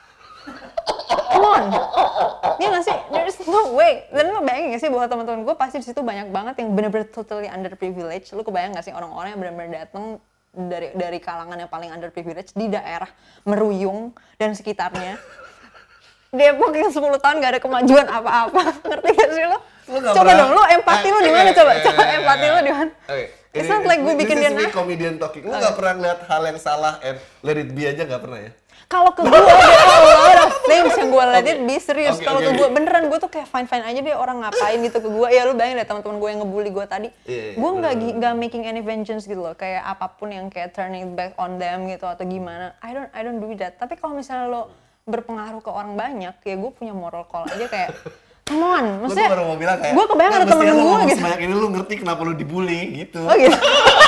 Come on, iya nggak sih? There's no way. Dan lo bayangin nggak sih bahwa teman-teman gue pasti di situ banyak banget yang benar-benar totally underprivileged. Lo kebayang nggak sih orang-orang yang benar-benar datang dari dari kalangan yang paling underprivileged di daerah Meruyung dan sekitarnya. Depok yang sepuluh tahun nggak ada kemajuan apa-apa. Ngerti gak sih lo? Coba dong, lo empati lo di mana coba? Coba empati lo di mana? It's not like gue bikin dia nangis. This is me comedian talking. Lo nggak pernah ngeliat hal yang salah and let it be aja nggak pernah ya? Kalau ke gue ada a lot of things yang gue let it be serius. Okay, Kalau okay, ke gue okay. beneran gue tuh kayak fine fine aja deh orang ngapain gitu ke gue. Ya lu bayangin deh teman-teman gue yang ngebully gue tadi. Yeah, gue nggak nggak making any vengeance gitu loh. Kayak apapun yang kayak turning back on them gitu atau gimana. I don't I don't do that. Tapi kalau misalnya lo berpengaruh ke orang banyak, ya gue punya moral call aja kayak come on. Maksudnya baru mau bilang kayak gue kebayang ada temen gue gitu. Sebanyak ini lu ngerti kenapa lu dibully gitu. Oh gitu.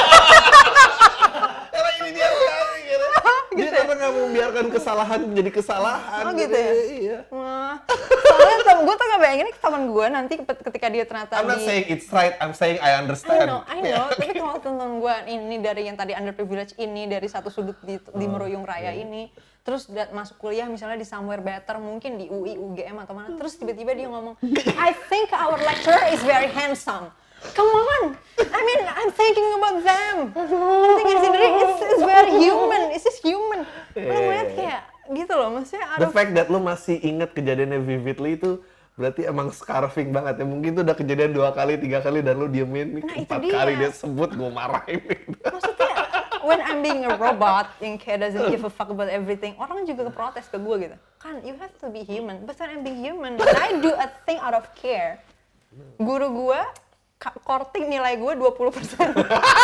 Dia gitu karena nggak mau membiarkan kesalahan jadi kesalahan. Oh gitu ya? Iya. Nah, soalnya tem- gue tuh gak bayangin ini teman gue nanti ketika dia ternyata I'm not di... saying it's right, I'm saying I understand. I know, I know. Tapi kalau teman gue ini dari yang tadi underprivileged ini, dari satu sudut di, di Meruyung Raya ini, terus dat- masuk kuliah misalnya di somewhere better, mungkin di U I, U G M atau mana, terus tiba-tiba dia ngomong, I think our lecturer is very handsome. Come on, I mean, I'm thinking about them. I'm thinking sendiri, it's, it's very human, it's just human. Lo ngeliat kayak gitu loh, maksudnya The fact that lo masih inget kejadiannya vividly itu berarti emang scarfing banget ya. Mungkin itu udah kejadian dua kali, tiga kali dan lo diemin. Nah, empat dia. kali dia sebut, gue marahin. Maksudnya, when I'm being a robot yang kayak doesn't give a fuck about everything, orang juga protes ke gue gitu. Kan, you have to be human, but when I'm being human, and I do a thing out of care. Guru gue, korting nilai gue dua puluh persen.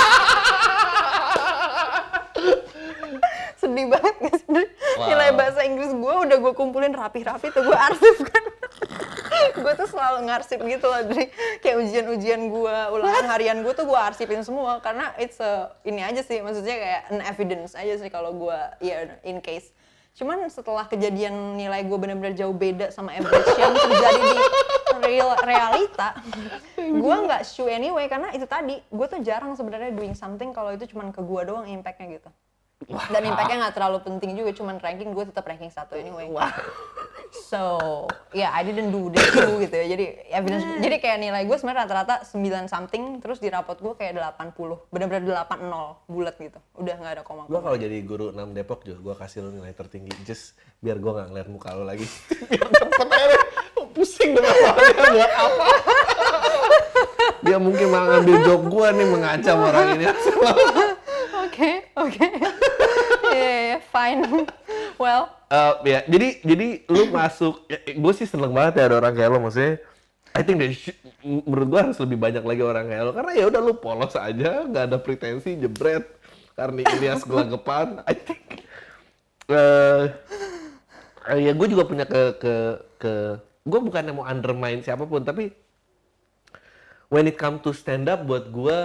Sedih banget gak sih? Wow. Nilai bahasa Inggris gue udah gue kumpulin rapi-rapi tuh gue arsipkan. Gue tuh selalu ngarsip gitu loh, dari kayak ujian-ujian gue, ulangan harian gue tuh gue arsipin semua karena it's a, ini aja sih, maksudnya kayak an evidence aja sih kalau gue, ya yeah, in case. Cuman setelah kejadian nilai gue benar-benar jauh beda sama average yang terjadi di real realita, gue nggak shoe anyway karena itu tadi gue tuh jarang sebenarnya doing something kalau itu cuman ke gue doang impactnya gitu. Dan impactnya nggak terlalu penting juga, cuman ranking gue tetap ranking satu anyway. Wah. So, yeah, I didn't do this too gitu ya. Jadi evidence, hmm. jadi kayak nilai gue sebenarnya rata-rata sembilan something, terus di rapot gue kayak delapan puluh, benar-benar delapan nol bulat gitu. Udah nggak ada koma-koma. Gue kalau jadi guru enam Depok juga, gue kasih lo nilai tertinggi, just biar gue nggak ngeliat muka lo lagi. Biar cepet aja, pusing dengan soalnya buat apa? Dia mungkin malah ngambil job gue nih, mengancam orang ini. Oke, oke. Yeah, fine. Well. Uh, ya, jadi jadi lu masuk, ya, gue sih seneng banget ya ada orang kayak lo, maksudnya. I think that should, menurut gue harus lebih banyak lagi orang kayak lo, karena ya udah lu polos aja, nggak ada pretensi, jebret. Karena Ilyas gelagapan, I think. Uh, ya gue juga punya ke ke ke, gue bukannya mau undermine siapapun, tapi when it come to stand up buat gue.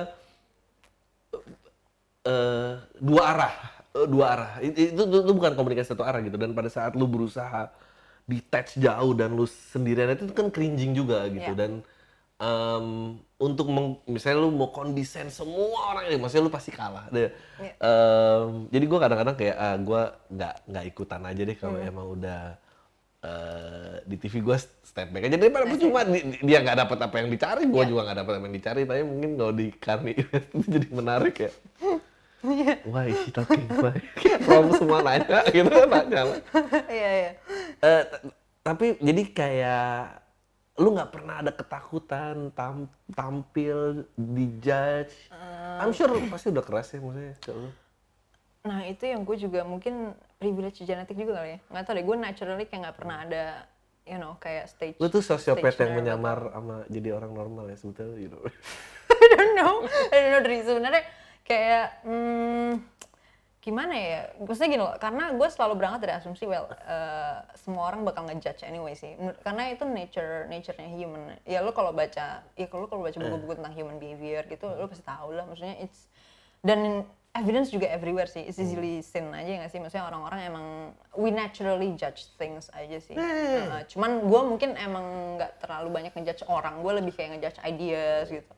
Uh, dua arah, uh, dua arah. Itu, itu, itu bukan komunikasi satu arah gitu. Dan pada saat lu berusaha detach jauh dan lu sendirian itu kan cringing juga gitu. Yeah. Dan um, untuk meng, misalnya lu mau kondisen semua orang ini, maksudnya lu pasti kalah. Deh. Yeah. Um, jadi gue kadang-kadang kayak ah, gue nggak nggak ikutan aja deh kalau mm. emang udah uh, di T V gue step back aja. Daripada cuma dia nggak dapat apa yang dicari, gue yeah. juga nggak dapat apa yang dicari. Tapi mungkin kalau di Karni itu jadi menarik ya. Yeah. Why is she talking? Why? From semua nanya gitu, nanya lah. Iya, iya. Uh, tapi jadi kayak lu nggak pernah ada ketakutan tam, tampil dijudge. Uh, I'm sure pasti udah keras ya maksudnya. Nah itu yang gue juga mungkin privilege genetik juga kali ya. Nggak tau deh, gue naturally kayak nggak pernah ada, you know, kayak stage. Lu tuh sosiopat yang menyamar sama jadi orang normal ya sebetulnya, you know. I don't know, I don't know dari sebenarnya. Kayak, hmm, gimana ya, maksudnya gini loh, karena gue selalu berangkat dari asumsi, well, uh, semua orang bakal ngejudge anyway sih, karena itu nature, nature-nya human. Ya lo kalau baca, ya kalau lo kalau baca buku-buku tentang human behavior gitu, lo pasti tahu lah, maksudnya it's, dan evidence juga everywhere sih, it's easily seen aja nggak sih, maksudnya orang-orang emang, we naturally judge things aja sih. Uh, cuman gue mungkin emang nggak terlalu banyak ngejudge orang, gue lebih kayak ngejudge ideas gitu.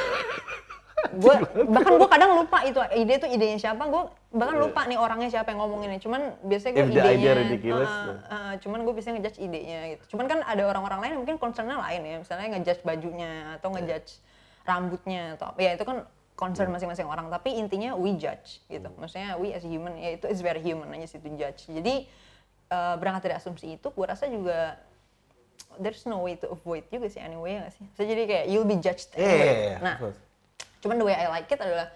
Gue bahkan gue kadang lupa itu ide itu idenya siapa, gue bahkan lupa nih orangnya siapa yang ngomonginnya, cuman biasanya gue idenya uh, uh, cuman gue biasanya ngejudge idenya gitu. Cuman kan ada orang-orang lain yang mungkin concernnya lain ya, misalnya ngejudge bajunya atau ngejudge rambutnya atau ya itu kan concern masing-masing orang, tapi intinya we judge gitu, maksudnya we as human ya itu is very human aja sih to judge. Jadi uh, berangkat dari asumsi itu gue rasa juga there's no way to avoid juga sih anyway ya nggak sih, so, jadi kayak you'll be judged anyway. Yeah, yeah, yeah. Nah cuman the way I like it adalah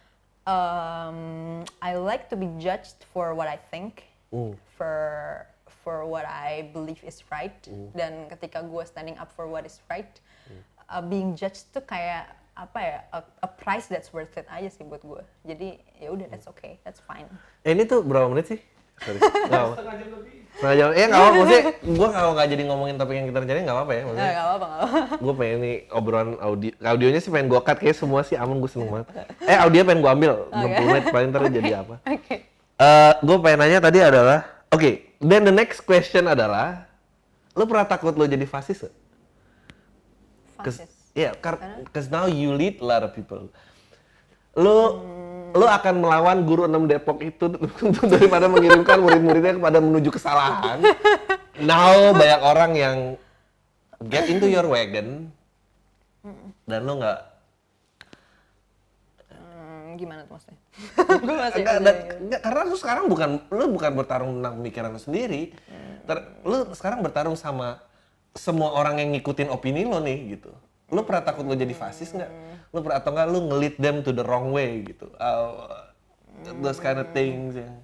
um, I like to be judged for what I think, mm. for for what I believe is right, mm. dan ketika gue standing up for what is right, mm. uh, being judged tuh kayak apa ya, a, a price that's worth it aja sih buat gue. Jadi ya udah, that's okay, that's fine. Eh, ini tuh berapa menit sih? Sorry. Setengah jam lebih. Setengah jam. Ya nggak apa-apa, maksudnya gue kalau nggak jadi ngomongin topik yang kita rencanain nggak apa-apa ya maksudnya. Nggak apa-apa, nggak apa-apa. Gue pengen nih obrolan audio, audionya sih pengen gue cut, kayak semua sih aman, gue seneng banget. Eh audio pengen gue ambil, enam puluh menit paling ntar jadi apa. Oke. Okay. Uh, gue pengen nanya tadi adalah, oke, okay, then the next question adalah, lo pernah takut lo jadi fasis gak? Fasis? Iya, yeah, because now you lead a lot of people. Lo, hmm. lo akan melawan guru enam Depok itu daripada mengirimkan murid-muridnya kepada menuju kesalahan. Now banyak orang yang get into your wagon dan lo nggak. Hmm, gimana tuh maksudnya? Enggak, enggak, enggak, karena lo sekarang bukan lo bukan bertarung tentang pemikiran lo sendiri. Ter, lo sekarang bertarung sama semua orang yang ngikutin opini lo nih gitu. Lo pernah takut lo jadi fasis nggak? Lo pernah atau nggak lo nge-lead them to the wrong way gitu? Uh, those kind of things ya.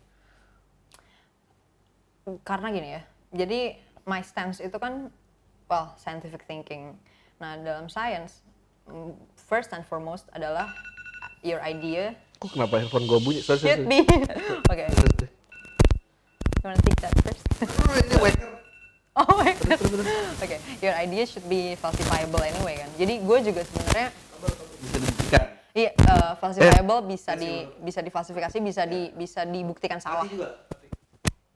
Karena gini ya, jadi my stance itu kan, well, scientific thinking. Nah dalam science, first and foremost adalah your idea. Kok kenapa handphone gue bunyi? Sorry, should be. Oke. You wanna take that first? Oh, ini waker. Oh my god. Oke, okay. Your idea should be falsifiable anyway kan. Jadi gue juga sebenarnya bisa dibuktikan. Iya, uh, falsifiable eh, bisa di bisa difalsifikasi, bisa di bisa dibuktikan salah.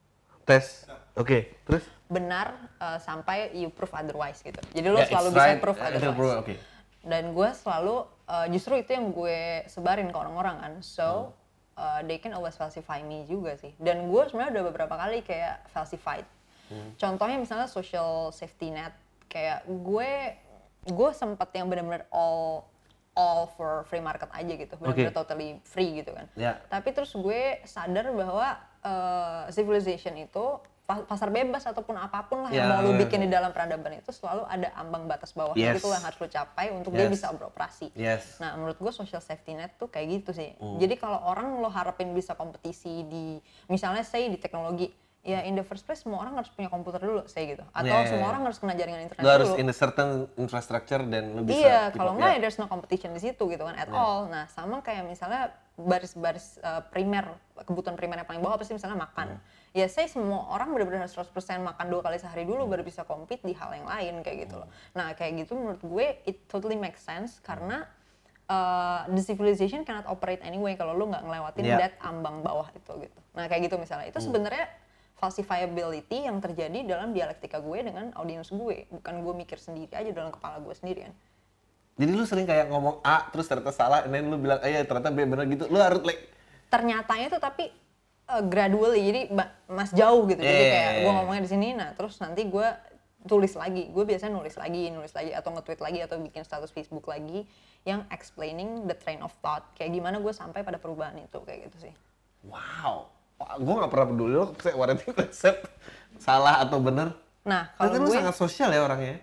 Tes. Oke, terus? benar uh, sampai you prove otherwise gitu. Jadi lo Yeah, selalu it's bisa right, prove uh, otherwise. prove, okay. Dan gue selalu uh, justru itu yang gue sebarin ke orang-orang kan. So uh, they can always falsify me juga sih. Dan gue sebenarnya udah beberapa kali kayak falsified. Hmm. Contohnya misalnya social safety net, kayak gue gue sempet yang benar-benar all all for free market aja gitu, benar-benar Okay. totally free gitu kan. Yeah. Tapi terus gue sadar bahwa uh, civilization itu pasar bebas ataupun apapun lah yang Yeah, mau lu yeah, bikin yeah. di dalam peradaban itu selalu ada ambang batas bawahnya Yes. gitu lah yang harus lu capai untuk dia Yes. bisa beroperasi. Yes. Nah menurut gue social safety net tuh kayak gitu sih. Mm. Jadi kalau orang lo harapin bisa kompetisi di misalnya say di teknologi, ya in the first place semua orang harus punya komputer dulu, say gitu. Atau Yeah, yeah, semua yeah. orang harus kena jaringan internet Lu harus dulu. in a certain infrastructure dan lu bisa Iya, keep kalau up, enggak ya. ya there's no competition di situ gitu kan at Yeah. all. Nah, sama kayak misalnya baris-baris uh, primer, kebutuhan primer yang paling bawah pasti misalnya makan. Ya saya semua orang benar-benar harus seratus persen makan dua kali sehari dulu baru bisa compete di hal yang lain kayak gitu loh. Nah, kayak gitu menurut gue it totally makes sense karena uh, the civilization cannot operate anyway kalau lu nggak ngelewatin Yeah. that ambang bawah itu gitu. Nah, kayak gitu misalnya. Itu sebenarnya falsifiability yang terjadi dalam dialektika gue dengan audiens gue, bukan gue mikir sendiri aja dalam kepala gue sendiri kan. Jadi lu sering kayak ngomong A terus ternyata salah, dan lu bilang eh ya ternyata B bener gitu. Lu harus like Ternyatanya tuh tapi uh, gradually, jadi ba- mas jauh gitu. Jadi Yeah. kayak gue ngomongnya di sini, nah terus nanti gue tulis lagi. Gue biasanya nulis lagi, nulis lagi atau nge-tweet lagi atau bikin status Facebook lagi yang explaining the train of thought. Kayak gimana gue sampai pada perubahan itu kayak gitu sih. wow. Wah, gue gak pernah peduli lo what itu konsep salah atau bener. Nah Ternyata kalau lu gue, sangat sosial ya orangnya.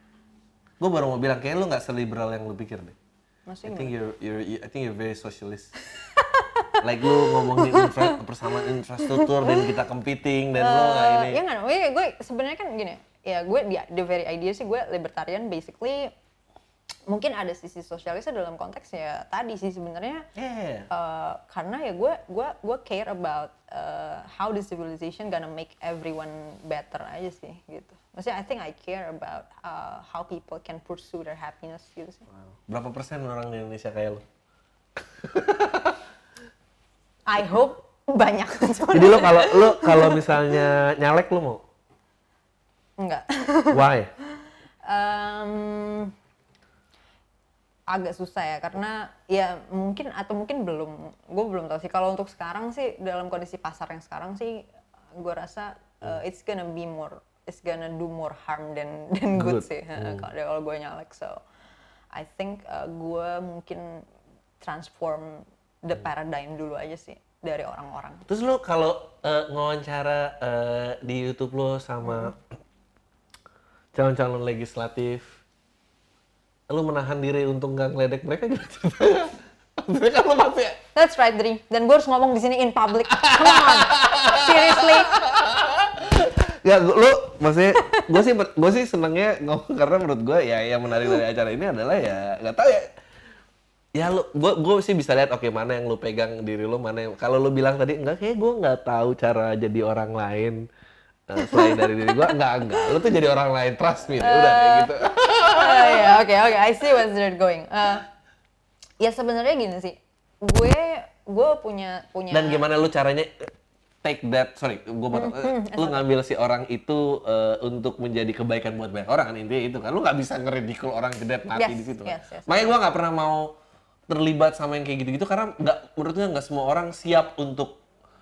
Gue baru mau bilang kayak lu gak seliberal yang lu pikir deh. maksudnya I think gimana? you're, you're, you- I think you're very socialist. Like lu ngomongin infra, persamaan infrastruktur dan kita competing dan lu nggak ini. Ya nggak, gue, gue sebenarnya kan gini, ya gue di the very idea sih gue libertarian basically. Mungkin ada sisi sosialisnya dalam konteks ya tadi sih sebenarnya. Yeah. Uh, karena ya gue gue gue care about uh, how the civilization gonna make everyone better aja sih gitu. Maksudnya I think I care about uh, how people can pursue their happiness gitu sih. Wow. Berapa persen orang di Indonesia kayak lu? I hope banyak. Jadi lu kalau lu kalau misalnya nyalek lu mau? Enggak. Why? um, agak susah ya karena ya mungkin atau mungkin belum, gue belum tahu sih. Kalau untuk sekarang sih dalam kondisi pasar yang sekarang sih gue rasa uh, it's gonna be more, it's gonna do more harm than than good, Good. sih. Hmm. Kalau kalau gue nyalek, so I think uh, gue mungkin transform the paradigm dulu aja sih dari orang-orang. Terus lu kalau eh, ngawancara eh, di YouTube lu sama calon-calon legislatif, lu menahan diri untuk nggak ngeledek mereka gimana ceritanya? Maksudnya kan lu pasti That's right, Dri. Dan gue harus ngomong di sini in public. Come on, seriously. ya gua- lu maksudnya gue sih gue sih senengnya ngomong karena menurut gue ya yang menarik dari acara ini adalah ya nggak tahu ya ya lu gue gue sih bisa lihat oke mana yang lu pegang diri lu, mana yang kalau lu bilang tadi enggak kayak gue nggak tahu cara jadi orang lain eh, selain dari diri gue, enggak enggak lu tuh jadi orang lain, trust me deh, udah kayak gitu. Oh ya, oke oke, I see where they're going. Uh, ya sebenarnya gini sih, gue gue punya punya. Dan gimana lu caranya take that, sorry, gue potong, lu ngambil si orang itu eh, untuk menjadi kebaikan buat banyak orang kan, intinya itu kan, lu nggak bisa ngeridikul orang jedet mati Yes, di situ kan. yes, yes. Makanya gue nggak pernah mau terlibat sama yang kayak gitu-gitu karena nggak, menurut gue nggak semua orang siap untuk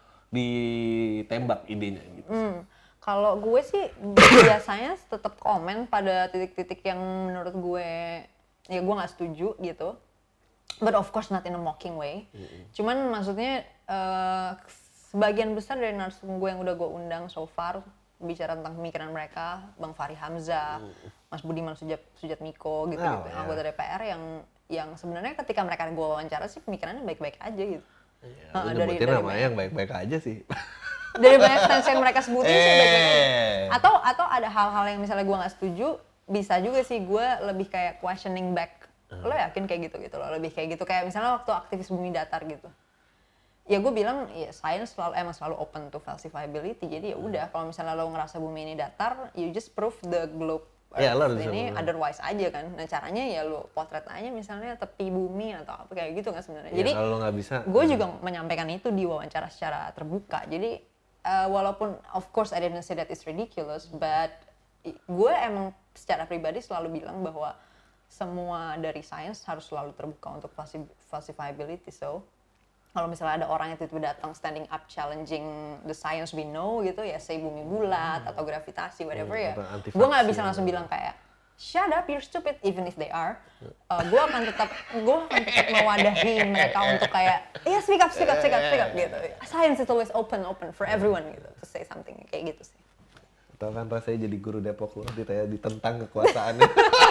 ditembak idenya gitu. Hmm, kalau gue sih biasanya tetap komen pada titik-titik yang menurut gue ya gue nggak setuju gitu. But of course not in a mocking way. Mm-hmm. Cuman maksudnya uh, sebagian besar dari narsum gue yang udah gue undang so far bicara tentang pemikiran mereka, Bang Fahri Hamzah, Mas Budiman Sujat Sujatmiko gitu, Oh, gitu yeah. anggota D P R yang yang sebenarnya ketika mereka gue wawancara sih pemikirannya baik-baik aja gitu. Ya, Nah, lu dari- nyebutin dari namanya yang baik-baik aja sih. Dari banyak stance yang mereka sebutin sih baik-baik aja. Eh. Atau atau ada hal-hal yang misalnya gue nggak setuju, bisa juga sih gue lebih kayak questioning back. Lo yakin kayak gitu gitu loh, lebih kayak gitu kayak misalnya waktu aktivis bumi datar gitu. Ya gue bilang ya science selalu emang selalu open to falsifiability. Jadi ya udah kalau misalnya lo ngerasa bumi ini datar, you just prove the globe Ya, lo Earth harus ini bisa- otherwise aja kan. Nah caranya ya lo potret aja misalnya tepi bumi atau apa kayak gitu kan sebenarnya. Ya, Jadi kalau lu nggak bisa, gue juga menyampaikan itu di wawancara secara terbuka. Jadi uh, walaupun of course I didn't say that it's ridiculous, but i- gue emang secara pribadi selalu bilang bahwa semua dari sains harus selalu terbuka untuk falsi- falsifiability. So kalau misalnya ada orang yang tiba-tiba datang standing up challenging the science we know gitu ya, say bumi bulat atau gravitasi whatever Hmm, ya, atau anti gue nggak vaksin. bisa langsung bilang kayak shut up, you're stupid, even if they are. Uh, gue akan tetap gue akan tetap mewadahi mereka untuk kayak ya speak up, speak up, speak up, speak up gitu. Science is always open, open for everyone gitu to say something kayak gitu sih. Tahu kan rasanya jadi guru Depok lu ditanya ditentang kekuasaannya.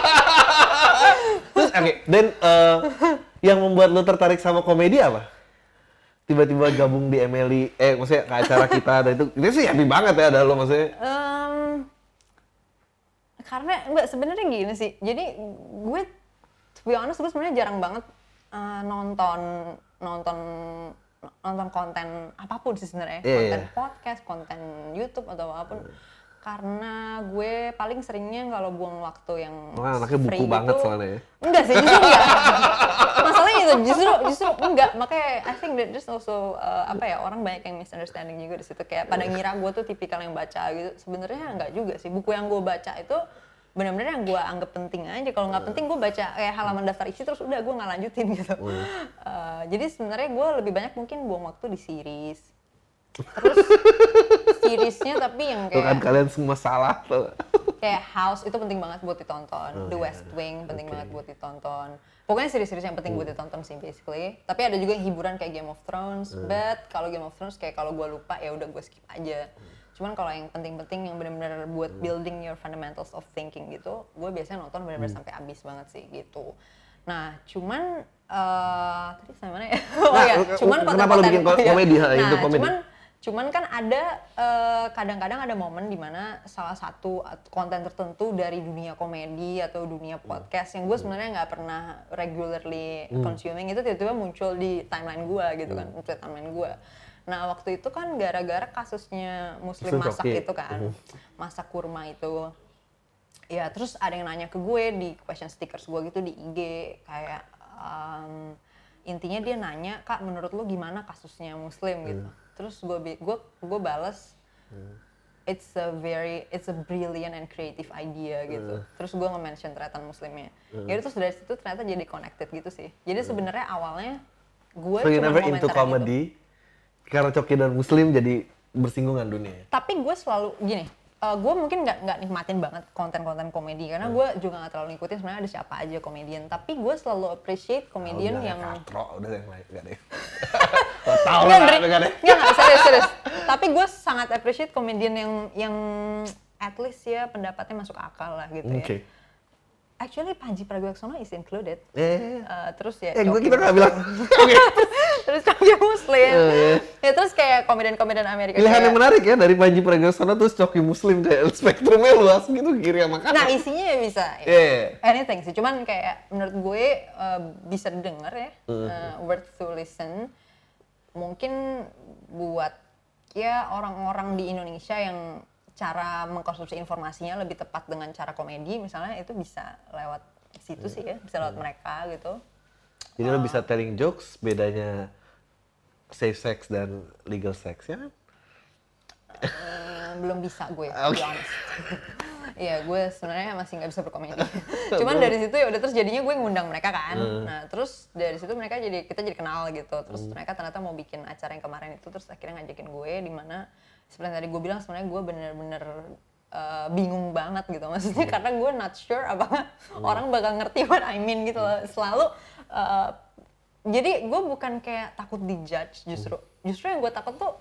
Terus oke, dan eh, yang membuat lu tertarik sama komedi apa? Tiba-tiba gabung di Emily, eh maksudnya ke acara kita dan itu, itu sih happy banget ya ada lu maksudnya. Um, karena enggak sebenarnya gini sih. Jadi gue to be honest gue sebenarnya jarang banget uh, nonton nonton nonton konten apapun sih sebenarnya. Iya, Konten iya. podcast, konten YouTube atau apapun. Karena gue paling seringnya kalau buang waktu yang Wah, anaknya buku free banget itu- soalnya ya. Enggak sih, justru enggak. Masalahnya itu justru justru enggak. Makanya I think that there's also uh, apa ya, orang banyak yang misunderstanding juga di situ, kayak pada ngira gue tuh tipikal yang baca gitu. Sebenarnya enggak juga sih. Buku yang gue baca itu benar-benar yang gue anggap penting aja. Kalau nggak penting gue baca kayak halaman daftar isi terus udah gue nggak lanjutin gitu. Uh, jadi sebenarnya gue lebih banyak mungkin buang waktu di series. Terus seriesnya tapi yang Tuh kan kayak kalian semua salah tuh. kayak House itu penting banget buat ditonton, The West Wing penting banget buat ditonton. Pokoknya series-series yang penting buat ditonton sih basically. Tapi ada juga yang hiburan kayak Game of Thrones, but kalau Game of Thrones kayak kalau gue lupa ya udah gue skip aja. Cuman kalau yang penting-penting yang benar-benar buat building your fundamentals of thinking gitu, gue biasanya nonton benar-benar sampai habis banget sih gitu. Nah, cuman eh tadi sampai mana ya? Oh Nah, ya, cuman kenapa lu bikin ko- iya. komedi, ha, Nah, itu komedi? cuman Cuman kan ada eh, kadang-kadang ada momen di mana salah satu at- konten tertentu dari dunia komedi atau dunia podcast yang gue sebenarnya nggak pernah regularly consuming itu tiba-tiba muncul di timeline gue gitu kan, muncul di timeline gue. Nah waktu itu kan gara-gara kasusnya Muslim Muslim masak Coki. itu kan, masak kurma itu. Ya terus ada yang nanya ke gue di question stickers gue gitu di I G kayak um, intinya dia nanya, Kak menurut lu gimana kasusnya Muslim gitu. Terus gue bi- gue gue balas it's a very it's a brilliant and creative idea gitu. Terus gue nge-mention ternyata Muslimnya. Ya terus dari situ ternyata jadi connected gitu sih. Jadi sebenarnya awalnya gue So you cuma never into komentarin comedy karena Coki dan Muslim jadi bersinggungan dunia. tapi gue selalu gini, uh, gue mungkin nggak nggak nikmatin banget konten-konten komedi karena gue juga nggak terlalu ngikutin sebenarnya ada siapa aja komedian, tapi gue selalu appreciate komedian Udah, yang katro, udah yang lain enggak deh. Lo tau Nggak, lah, Ndri. enggak deh. Nggak, nggak, serius, serius. Tapi gue sangat appreciate komedian yang yang at least ya pendapatnya masuk akal lah gitu Oke. ya. Actually Panji Pragiwaksono is included. Eh, Uh, terus ya eh gue Coki kita nggak Muslim. bilang. Oke. Terus Coki Muslim. Oh, iya. Ya terus kayak komedian-komedian Amerika. Pilihan kayak- yang menarik ya dari Panji Pragiwaksono terus Coki Muslim kayak spektrumnya luas gitu kiri sama kanan. Nah isinya ya bisa. ya. Iya. Anything sih, cuman kayak menurut gue uh, bisa didengar ya, uh, worth to listen. Mungkin buat ya orang-orang di Indonesia yang cara mengkonsumsi informasinya lebih tepat dengan cara komedi misalnya, itu bisa lewat situ sih ya, bisa lewat mereka gitu. Jadi lo bisa telling jokes bedanya safe sex dan legal sex ya kan? Eh, belum bisa gue, to Oke. be honest. Iya, gue sebenarnya masih nggak bisa berkomedi. Cuman dari situ ya udah terus jadinya gue ngundang mereka kan. Nah terus dari situ mereka jadi kita jadi kenal gitu. Terus mereka ternyata mau bikin acara yang kemarin itu, terus akhirnya ngajakin gue di mana seperti tadi gue bilang sebenarnya gue bener-bener uh, bingung banget gitu. Maksudnya karena gue not sure apakah orang bakal ngerti what I mean gitu loh. Selalu uh, jadi gue bukan kayak takut dijudge justru. Justru yang gue takut tuh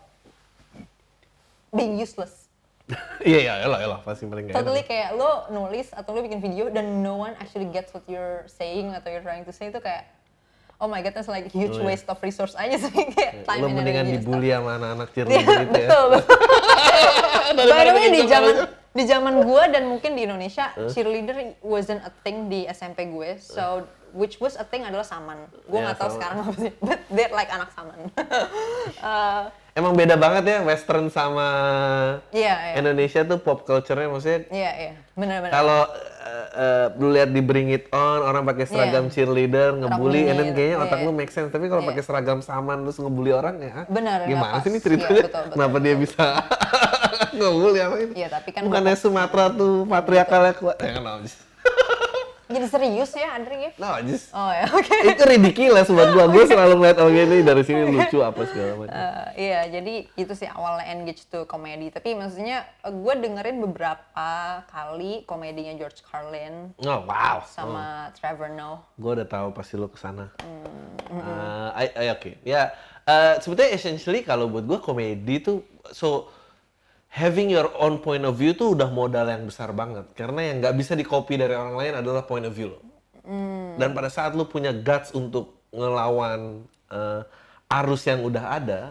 being useless. Iya iya elah elah pasti paling nggak enak. Totally kayak lo nulis atau lo bikin video dan no one actually gets what you're saying atau you're trying to say itu kayak oh my god, that's like huge Oh, iya. waste of resource aja sih kayak time Lo and mendingan energy and dibully stuff. sama anak-anak Iya, cheerleader gitu ya. betul, betul. By the way, bikin di joke zaman aja. di zaman gue dan mungkin di Indonesia cheerleader wasn't a thing di S M P gue, so which was a thing adalah saman. Gue Ya, nggak tahu saman. sekarang apa sih, but they're like anak saman. Eh, Emang beda banget ya Western sama Iya, iya. Indonesia tuh pop culture-nya maksudnya. Iya, iya, benar-benar. Kalau uh, uh, lu lihat di Bring It On, orang pakai seragam Iya. cheerleader, ngebully, and then Rambutnya, kayaknya iya, otak iya. lu make sense. Tapi kalau Iya. pakai seragam saman terus ngebully orang ya, Benar, nggak gimana pas. sih ini ceritanya? Iya, betul, betul, Kenapa dia betul. bisa ngebully apa ini? Iya, tapi kan bukannya bapak- Sumatera tuh patriarkalnya kuat. Ya kan, no, just, Jadi serius ya, Andre ya? no, just. Oh ya, oke. Itu ridiculous buat gua. Gua selalu ngeliat orang ini dari sini lucu apa segala macam. Eh, iya, jadi itu sih awalnya engage to komedi. Tapi maksudnya gue dengerin beberapa kali komedinya George Carlin Oh, wow. sama Trevor Noah. Gue udah tahu pasti lo kesana. Hmm, Eh, I- I- Oke, ya eh, sebetulnya essentially kalau buat gue komedi tuh so having your own point of view tuh udah modal yang besar banget karena yang nggak bisa di copy dari orang lain adalah point of view lo. Hmm. Dan pada saat lo punya guts untuk ngelawan eh, arus yang udah ada,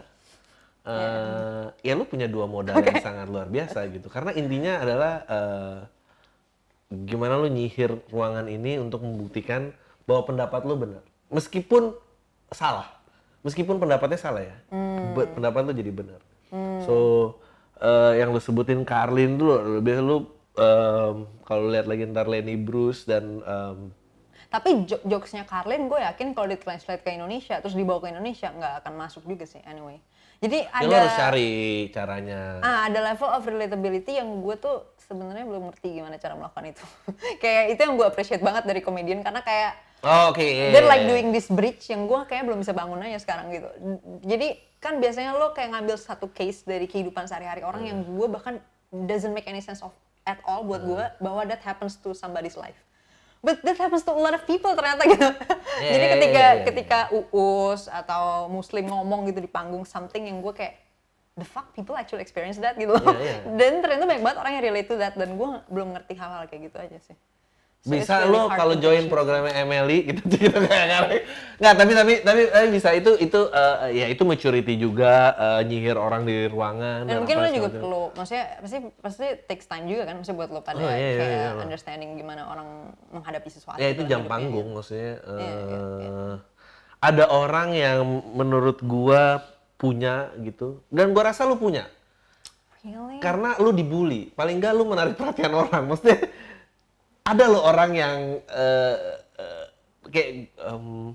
eh, ya lo punya dua modal yang sangat luar biasa gitu. Karena intinya adalah eh, gimana lo nyihir ruangan ini untuk membuktikan bahwa pendapat lo benar. Meskipun salah. Meskipun pendapatnya salah ya. But pendapat lo jadi benar. So, eh, yang lo sebutin Carlin dulu, biasa lo em, kalau lihat lagi ntar Lenny Bruce dan em, Tapi jo- jokesnya Carlin gue yakin kalau ditranslate ke Indonesia terus dibawa ke Indonesia nggak akan masuk juga sih anyway. Jadi ya ada lo harus cari caranya. ah, ada level of relatability yang gue tuh sebenarnya belum ngerti gimana cara melakukan itu. Kayak itu yang gue appreciate banget dari komedian karena kayak Oh, oke. iya, they're iya, like iya. doing this bridge yang gue kayak belum bisa bangun aja sekarang gitu. Jadi kan biasanya lo kayak ngambil satu case dari kehidupan sehari-hari orang yang gue bahkan doesn't make any sense of at all buat gue bahwa that happens to somebody's life. But that happens to a lot of people ternyata gitu. Yeah, Jadi yeah, ketika yeah, yeah. ketika Uus atau Muslim ngomong gitu di panggung something yang gue kayak the fuck people actually experience that gitu loh. Yeah, yeah. Dan ternyata banyak banget orang yang relate to that dan gue belum ngerti hal-hal kayak gitu aja sih. So it's Bisa really lo hard kalau to join judge. programnya Emily gitu gitu kayak ngerti. Nggak, tapi tapi tapi tapi bisa itu itu eh, ya itu maturity juga eh, nyihir orang di ruangan Dan mungkin apa lo juga segala macam. perlu, maksudnya pasti pasti takes time juga kan, maksudnya buat lo pada Oh, iya, iya, kayak iya, iya. understanding gimana orang menghadapi sesuatu. Ya itu dalam jam hidupnya. panggung maksudnya. eh, Iya, iya, iya. Ada orang yang menurut gua punya gitu dan gua rasa lu punya Really? karena lu dibully. Paling nggak lu menarik perhatian orang. Maksudnya ada lo orang yang eh, eh, kayak em,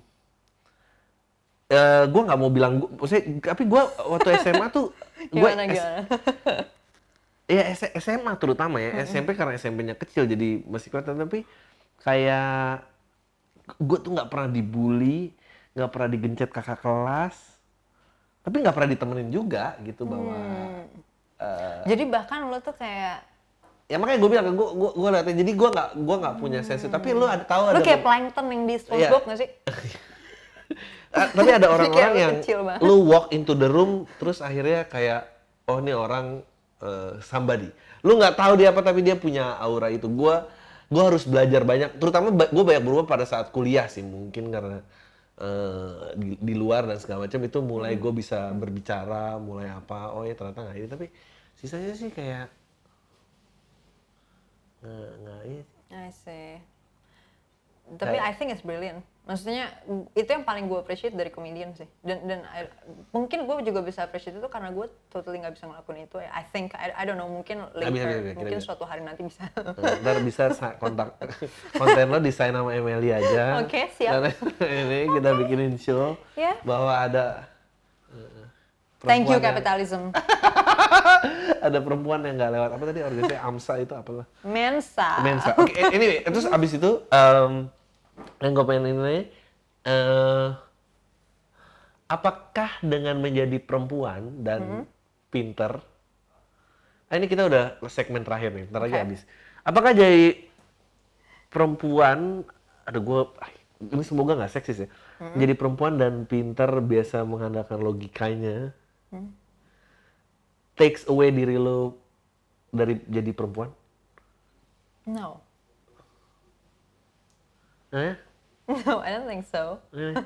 eh, gua nggak mau bilang gua, maksudnya tapi gua waktu S M A tuh gua Gimana, S- gimana? ya S- SMA terutama ya, S M P karena S M P-nya kecil jadi masih kelihatan tapi kayak gue tuh nggak pernah dibully, nggak pernah digencet kakak kelas, tapi nggak pernah ditemenin juga gitu bahwa Hmm. Jadi bahkan lo tuh kayak, ya makanya gue bilang gue gue gue liatnya jadi gue nggak gue nggak punya sensi tapi lu ada tahu lo ada kayak plankton yang di SpongeBob Iya. nggak sih? Ah, tapi ada orang-orang Kayak lu yang kecil banget. lu walk into the room terus akhirnya kayak oh ini orang eh, somebody. Lu nggak tahu dia apa tapi dia punya aura itu. Gua gua harus belajar banyak, terutama ba- gua banyak berubah pada saat kuliah sih mungkin karena eh, di, di luar dan segala macam itu mulai gue bisa berbicara, mulai apa. Oh ya ternyata nggak ini tapi sisanya sih kayak nggak nggak ini. I see. Tapi Kayak- I think it's brilliant. Maksudnya itu yang paling gue appreciate dari comedian sih. Dan dan I- mungkin gue juga bisa appreciate itu karena gue totally nggak bisa ngelakuin itu. I think I, I don't know mungkin later, bisa, bisa, bisa, mungkin bisa. suatu hari nanti bisa. Nah, ntar bisa sa- kontak konten lo desain sama Emily aja. Oke, siap. Dan ini kita bikinin show Ya. bahwa ada eh, Thank you perempuan yang- capitalism. ada perempuan yang nggak lewat apa tadi organisasi AMSA itu apa lah? Mensa. Mensa. Oke, anyway, terus abis itu em, yang gue pengen ini eh apakah dengan menjadi perempuan dan Mm-hmm. pinter, ah, ini kita udah segmen terakhir nih, ntar lagi Oke. habis. Apakah jadi perempuan, ada gue, ini semoga nggak seksis ya, Mm-hmm. jadi perempuan dan pinter biasa mengandalkan logikanya, Mm. takes away diri lo dari jadi perempuan? No. Eh? No, I don't think so. Eh?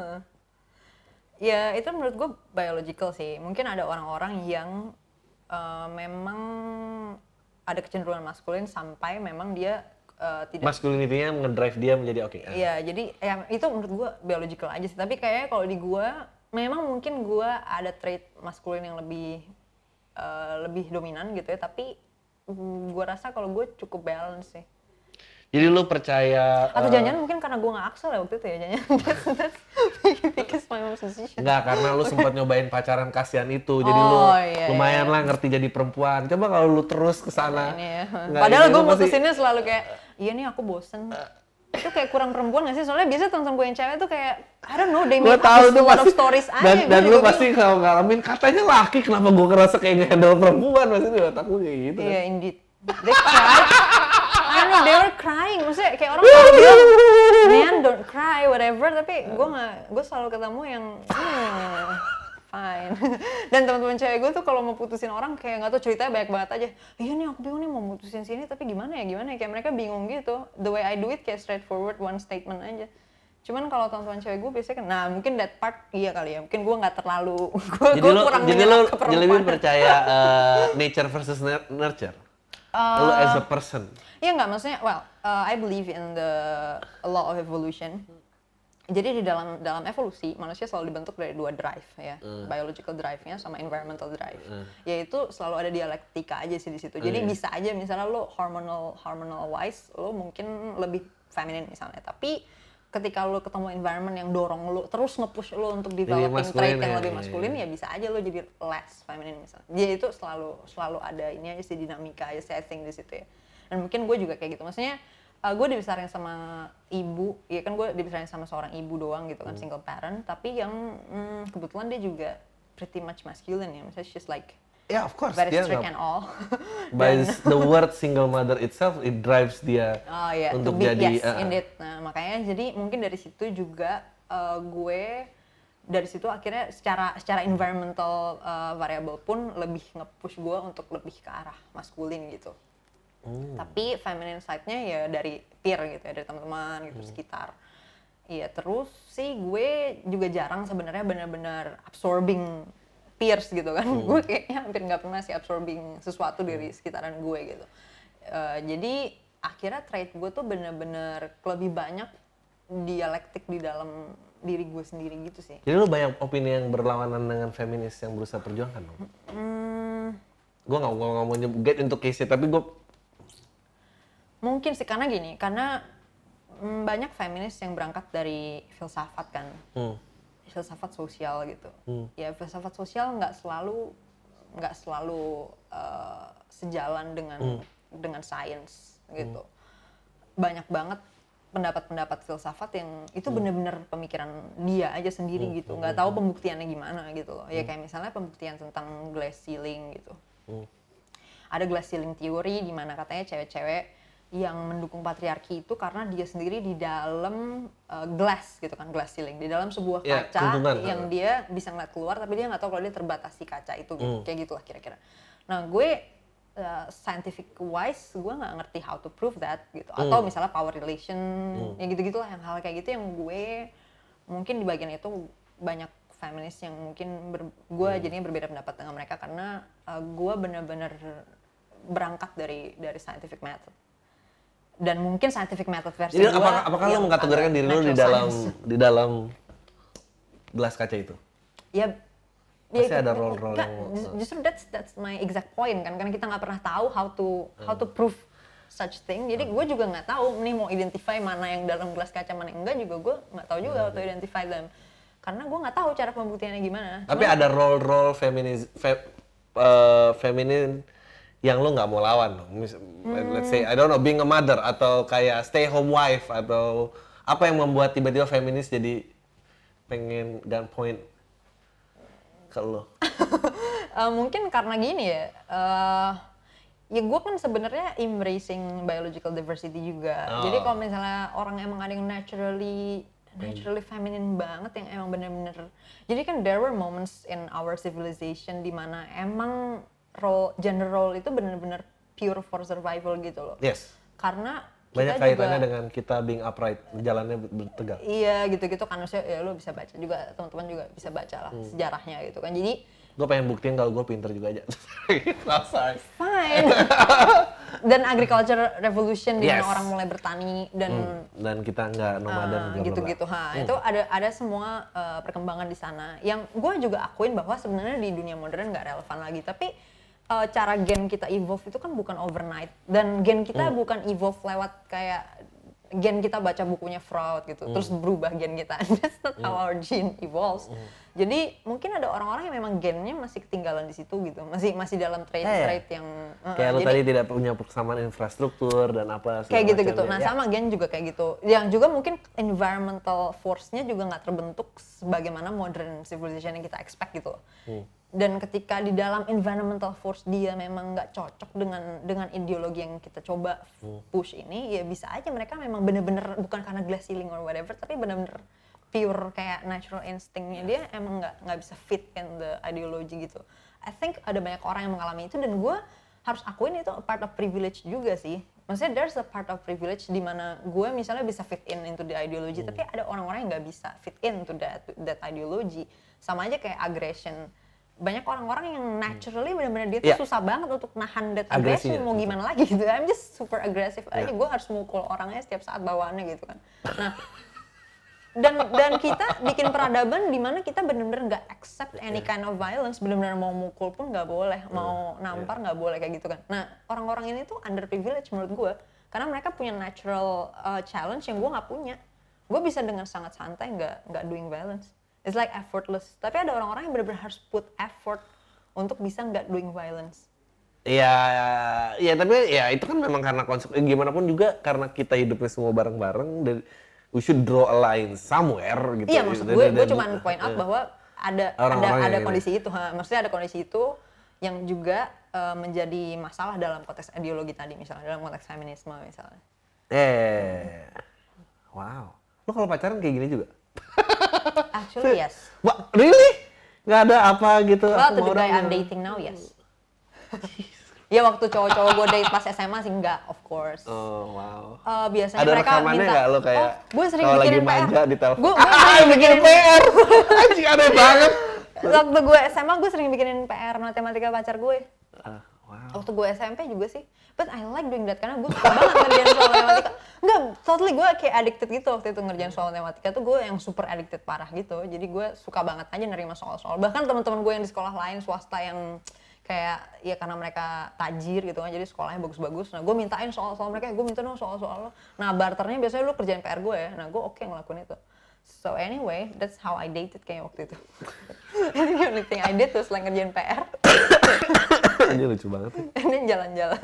Ya itu menurut gue biological sih. Mungkin ada orang-orang yang uh, memang ada kecenderungan maskulin sampai memang dia uh, tidak Masculinity-nya ngedrive dia menjadi oke. Okay. Iya, jadi ya itu menurut gue biological aja sih. Tapi kayaknya kalau di gue, memang mungkin gue ada trait maskulin yang lebih uh, lebih dominan gitu ya. Tapi mm, gue rasa kalau gue cukup balance sih. Jadi lu percaya... Atau uh, jangan-jangan mungkin karena gue gak aksel ya waktu itu ya. Jangan-jangan that's, that's because my mom's decision. Enggak, karena lu sempat nyobain pacaran kasihan itu. Jadi Oh, lu iya, lumayan iya. lah ngerti jadi perempuan. Coba kalau lu terus ke sana. Ini ya. nggak Padahal ini, gue lu pasti- mutusinnya selalu kayak, iya nih aku bosen. Itu kayak kurang perempuan gak sih? Soalnya biasanya teman-teman gue yang cewek tuh kayak, I don't know, they Gue make tahu up tuh a lot of pasti stories aja. dan, Gue dan lu juga pasti kalau ngalamin katanya laki, kenapa gue ngerasa kayak nge-handle perempuan, pasti di otak lu kayak gitu. bingung. Iya, kan? indeed. They cried. I don't know, they were crying. Maksudnya kayak orang selalu bilang, man don't cry, whatever. Tapi gue gak, gue selalu ketemu yang, hmm, fine. Dan teman-teman cewek gue tuh kalau mau putusin orang kayak nggak tahu ceritanya banyak banget aja. Iya nih aku bingung nih mau putusin sini tapi gimana ya gimana ya kayak mereka bingung gitu. The way I do it kayak straightforward one statement aja. Cuman kalau teman-teman cewek gue biasanya kan, nah mungkin that part iya kali ya. Mungkin gue nggak terlalu, gue Jadi gue lu, kurang jadi lu, menyerap ke jadi lu perempuan. percaya uh, nature versus nur- nurture? lu as a person? Iya nggak maksudnya, well, uh, I believe in the law of evolution. Jadi di dalam dalam evolusi manusia selalu dibentuk dari dua drive ya, Hmm. biological drive-nya sama environmental drive. Yaitu selalu ada dialektika aja sih di situ. Jadi Hmm. bisa aja misalnya lo hormonal hormonal wise lo mungkin lebih feminin misalnya, tapi ketika lo ketemu environment yang dorong lo terus nge-push lo untuk developing maskulin trait yang ya, lebih iya, maskulin iya. ya bisa aja lo jadi less feminine misalnya. Dia itu selalu selalu ada ini aja sih dinamika aja sih I think di situ ya. Dan mungkin gue juga kayak gitu. Maksudnya uh, gue dibesarin sama ibu, ya kan gue dibesarin sama seorang ibu doang gitu kan, Hmm. single parent, tapi yang mm, kebetulan dia juga pretty much masculine ya. Misalnya she's like Ya, of course. very Dia strict nggak- and all. by the word single mother itself, it drives dia Oh iya, untuk to be- jadi. yes, uh, indeed. Nah makanya jadi mungkin dari situ juga uh, gue dari situ akhirnya secara secara environmental uh, variable pun lebih nge-push gue untuk lebih ke arah maskulin gitu. Hmm. Tapi feminine side-nya ya dari peer gitu ya, dari teman-teman gitu Hmm. sekitar. Iya, terus sih gue juga jarang sebenarnya benar-benar absorbing peers gitu kan. Hmm. Gue kayaknya hampir nggak pernah sih absorbing sesuatu dari sekitaran gue gitu. Eh, jadi akhirnya trait gue tuh benar-benar lebih banyak dialektik di dalam diri gue sendiri gitu sih. Jadi lu banyak opini yang berlawanan dengan feminis yang berusaha perjuangkan dong? Hmm, Gue nggak nggak mau nyebut get into case tapi gue mungkin sih karena gini, karena mm, banyak feminis yang berangkat dari filsafat kan. hmm, Filsafat sosial gitu. Hmm. Ya filsafat sosial nggak selalu nggak selalu uh, sejalan dengan Hmm. dengan sains gitu. Banyak banget pendapat-pendapat filsafat yang itu benar-benar pemikiran dia aja sendiri Hmm. gitu. Nggak tahu pembuktiannya gimana gitu loh. Ya kayak misalnya pembuktian tentang glass ceiling gitu. Hmm. Ada glass ceiling theory di mana katanya cewek-cewek yang mendukung patriarki itu karena dia sendiri di dalam uh, glass gitu kan, glass ceiling, di dalam sebuah Ya, kaca kuntungan. yang dia bisa ngeliat keluar tapi dia nggak tahu kalau dia terbatasi kaca itu gitu. Hmm. Kayak gitulah kira-kira. Nah gue uh, scientific wise gue nggak ngerti how to prove that gitu, atau Hmm. misalnya power relation ya gitu-gitulah, yang hal kayak gitu yang gue mungkin di bagian itu banyak feminis yang mungkin ber, gue Hmm. jadinya berbeda pendapat dengan mereka karena uh, gue bener-bener berangkat dari dari scientific method. Dan mungkin scientific method versi Jadi gua apakah apakah lo yang mengkategorikan ada diri lo di natural dalam science. di dalam gelas kaca itu? Ya, Pasti ya, ada itu- role-role nggak, yang- ju- justru that's that's my exact point kan, karena kita nggak pernah tahu how to how to prove such thing. Jadi gue juga nggak tahu nih mau identify mana yang dalam gelas kaca mana yang enggak, juga gue nggak tahu juga how to identify them. Karena gue nggak tahu cara pembuktiannya gimana. Tapi Cuman- ada role-role feminis fe, uh, feminin yang lo nggak mau lawan dong. Mis- Let's say I don't know, being a mother atau kayak stay home wife atau apa yang membuat tiba-tiba feminis jadi pengen gunpoint ke lo? Eh, mungkin karena gini ya, eh ya gue kan sebenarnya embracing biological diversity juga. Oh. Jadi kalau misalnya orang emang ada yang naturally naturally feminine banget yang emang bener-bener, jadi kan there were moments in our civilization di mana emang role gender role itu bener-bener pure for survival gitu loh. Yes. Karena Banyak kita kaitannya juga, dengan kita being upright, jalannya bertegak. iya gitu-gitu kan, maksudnya ya lo bisa baca juga, teman-teman juga bisa baca lah sejarahnya gitu kan. Jadi Gue pengen buktiin kalau gue pinter juga aja. Sorry. fine. dan agriculture revolution di mana Yes. orang mulai bertani dan Hmm, dan kita nggak nomaden uh, bla, bla, gitu-gitu. bla. Ha, itu ada ada semua uh, perkembangan di sana. Yang gue juga akuin bahwa sebenarnya di dunia modern nggak relevan lagi. Tapi uh, cara gen kita evolve itu kan bukan overnight. Dan gen kita Hmm. bukan evolve lewat kayak gen kita baca bukunya Freud gitu, Hmm. terus berubah gen kita. That's not how our gene evolves. Hmm. Jadi mungkin ada orang-orang yang memang gennya masih ketinggalan di situ gitu, masih masih dalam trait-trait yang uh, Kayak lo jadi- tadi tidak punya persamaan infrastruktur dan apa segala kayak gitu-gitu. macamnya. Nah Ya. sama gen juga kayak gitu. Yang juga mungkin environmental force-nya juga nggak terbentuk sebagaimana modern civilization yang kita expect gitu. Hmm. Dan ketika di dalam environmental force dia memang nggak cocok dengan dengan ideologi yang kita coba Hmm. push ini, ya bisa aja mereka memang bener-bener bukan karena glass ceiling or whatever, tapi bener-bener pure kayak natural instinct-nya dia emang nggak nggak bisa fit in the ideology gitu. I think ada banyak orang yang mengalami itu dan gue harus akuin itu part of privilege juga sih. Maksudnya there's a part of privilege di mana gue misalnya bisa fit in into the ideology, Hmm. tapi ada orang-orang yang nggak bisa fit in to that that ideology. Sama aja kayak aggression. Banyak orang-orang yang naturally benar-benar dia tuh Yeah. susah banget untuk nahan that Agresinya. aggression, mau gimana lagi gitu. I'm just super aggressive aja, Yeah. gue harus mukul orangnya setiap saat bawaannya gitu kan. Nah, dan dan kita bikin peradaban di mana kita benar-benar nggak accept any kind of violence, benar-benar mau mukul pun nggak boleh, mau nampar nggak boleh kayak gitu kan. Nah, orang-orang ini tuh underprivileged menurut gue, karena mereka punya natural uh, challenge yang gue nggak punya. Gue bisa dengan sangat santai nggak nggak doing violence. It's like effortless. Tapi ada orang-orang yang benar-benar harus put effort untuk bisa nggak doing violence. Iya, ya tapi ya itu kan memang karena konsep eh, gimana pun juga karena kita hidupnya semua bareng-bareng dan we should draw a line somewhere gitu. Iya, maksud Dan- gue, dan- gue dan- cuma point out eh, bahwa ada ada Orang-orang ada yang ini. kondisi itu, ha. Maksudnya ada kondisi itu yang juga uh, menjadi masalah dalam konteks ideologi tadi misalnya, dalam konteks feminisme misalnya. Eh, wow. Lo kalau pacaran kayak gini juga? Actually yes. Wah, really? Nggak ada apa gitu? Well, aku to mau the guy dong. I'm dating now, yes. Ya waktu cowok-cowok gue date pas S M A sih enggak, of course. Oh, wow. Uh, biasanya Ada mereka rekamannya minta, nggak lo kayak oh, gue sering kalau lagi bikinin P R. manja di telepon? Gue Ah, bikin P R. Anjing aneh banget. waktu gue S M A gue sering bikinin P R matematika pacar gue. Ah, wow. Waktu gue S M P juga sih. But I like doing that karena gue suka banget ngerjain soal matematika. Enggak, totally gue kayak addicted gitu waktu itu ngerjain soal matematika tuh gue yang super addicted parah gitu. Jadi gue suka banget aja nerima soal-soal. Bahkan teman-teman gue yang di sekolah lain swasta yang kayak ya karena mereka tajir gitu kan, jadi sekolahnya bagus-bagus. Nah gue mintain soal-soal mereka, gue minta dong soal-soal lo. Nah barternya biasanya lu kerjain P R gue ya. Nah gue oke ngelakuin itu. So anyway, that's how I dated kayak waktu itu. I think the only thing I did was like ngerjain P R. Anjir lucu banget. Ini jalan-jalan.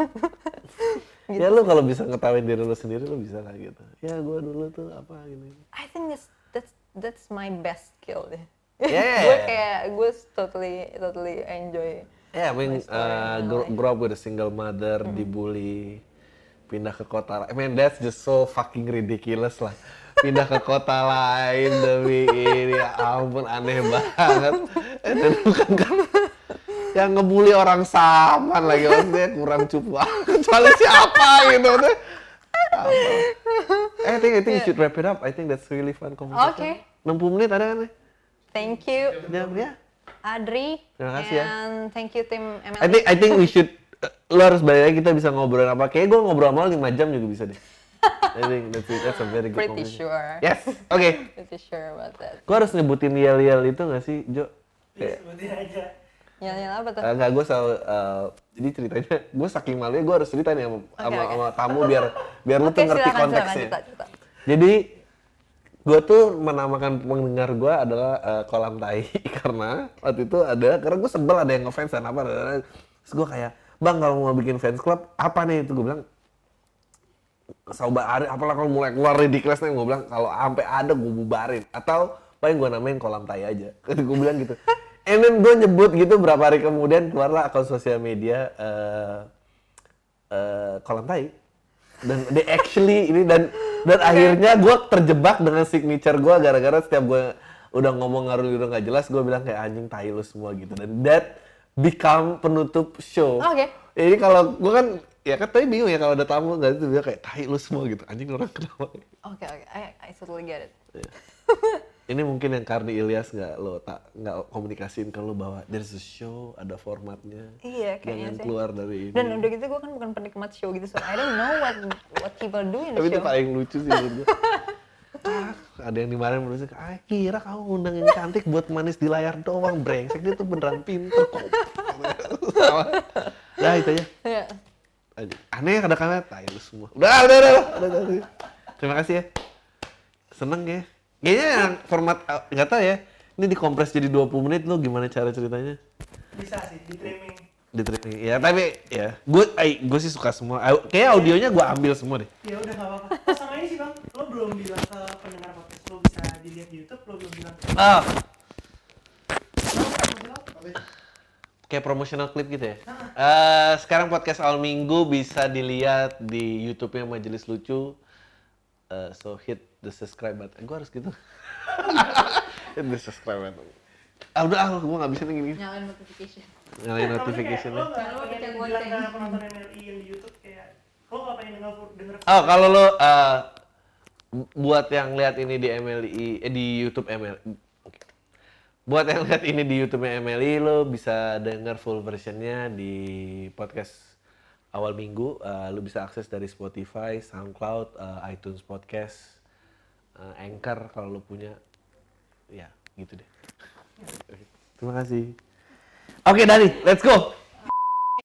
Ya lu kalau bisa ngetawain diri lu sendiri lu bisa lah gitu. Ya gue dulu tuh apa gini. I think that's that's that's my best skill deh. Yeah. Gue kayak gue totally totally enjoy. Yeah, I mean, My story uh, and grow, life. grow up with a single mother, dibully, pindah ke kota. I mean, that's just so fucking ridiculous lah. Pindah ke kota lain demi ini, ya ampun aneh banget. Eh, dan bukan kan yang ngebully orang Saman lagi, maksudnya kurang cupu. Kecuali siapa gitu. Maksudnya, apa? Eh, I think, I think you should wrap it up. I think that's really fun conversation. Okay. enam puluh menit ada kan? Thank you, Ya, ya. Adri. Terima kasih ya. And thank you tim M L I think I think we should uh, lo harus balik lagi kita bisa ngobrol apa. Kayaknya gue ngobrol sama lo lima jam juga bisa deh. I think that's, it. That's a very good Pretty conversation. sure. Yes, oke. Okay. Pretty sure about that. Gue harus nyebutin yel-yel itu nggak sih, Jo? Kayak, Sebutin aja. Nyala-nyala apa tuh? uh, nggak, gue selalu, uh, jadi ceritanya, gue saking malunya gue harus cerita nih sama, sama, oke. sama tamu biar biar lu Oke, tuh ngerti silakan, silakan, konteksnya. cerita, cerita. Jadi, gue tuh menamakan pendengar gue adalah uh, kolam tai karena waktu itu ada, karena gue sebel ada yang ngefans dan apa, terus gue kayak, bang kalau mau bikin fans club apa nih itu gue bilang, coba ada, apalah kalau mulai keluar ridiculous nih gue bilang kalau sampai ada gue bubarin atau paling gue namain kolam tai aja, gue bilang gitu. And then gue nyebut gitu berapa hari kemudian keluarlah akun sosial media uh, uh, kolam tai dan they actually ini dan dan akhirnya gue terjebak dengan signature gue gara-gara setiap gue udah ngomong ngaruh udah nggak jelas gue bilang kayak anjing tai lu semua gitu dan that become penutup show. Oke. Jadi kalau gue kan ya kan tadi bingung ya kalau ada tamu nggak itu dia kayak tai lu semua gitu anjing orang kenapa? Oke, oke. I, I totally get it. Yeah. ini mungkin yang Karni Ilyas nggak lo tak nggak komunikasiin ke lo bahwa there's a show, ada formatnya. Iya, kayaknya Jangan sih. keluar dari ini. Dan udah gitu gue kan bukan penikmat show gitu, so I don't know what what people do in the Tapi itu show. paling lucu sih menurut gue. Ah, ada yang dimarahin menurut saya, ah, kira kamu undang yang cantik buat manis di layar doang, brengsek dia tuh beneran pinter kok. Sama. Nah itu aja. Iya. Aneh kadang-kadang, tai lu semua. Udah, udah, udah, udah, udah, udah. Terima kasih ya. Seneng ya. Kayaknya yang format, uh, nggak tahu ya, ini dikompres jadi dua puluh menit lo gimana cara ceritanya? Bisa sih, di trimming. Di training, ya tapi ya, gue gue sih suka semua. Au- Kayaknya audionya gue ambil semua deh. Ya udah nggak apa-apa. Oh, sama ini sih bang, lo belum bilang ke pendengar podcast lo bisa dilihat di YouTube, lo belum bilang. Ah, Lo mau bilang? kayak promotional clip gitu ya. Eh, sekarang podcast awal minggu bisa dilihat di YouTube-nya Majelis Lucu. Eh, so hit the subscribe button. Gue harus gitu. Hit the subscribe button. Ah udah, ah, gue nggak bisa nih gini. Nyalain notification. Nyalain notification-nya. Lo nggak Jangan lupa pengen pencet bilang lonceng. ke penonton M L I yang di YouTube kayak, lo nggak pengen denger denger. Oh, kalau lo eh, buat yang lihat ini di M L I, eh, di YouTube M L I. Oke. Buat yang lihat ini di YouTube-nya M L I, lo bisa denger full versionnya di podcast awal minggu. Eh, lo bisa akses dari Spotify, SoundCloud, eh, iTunes Podcast, eh, Anchor kalau lo punya. Ya, gitu deh. Terima kasih. Oke, Dani, let's go.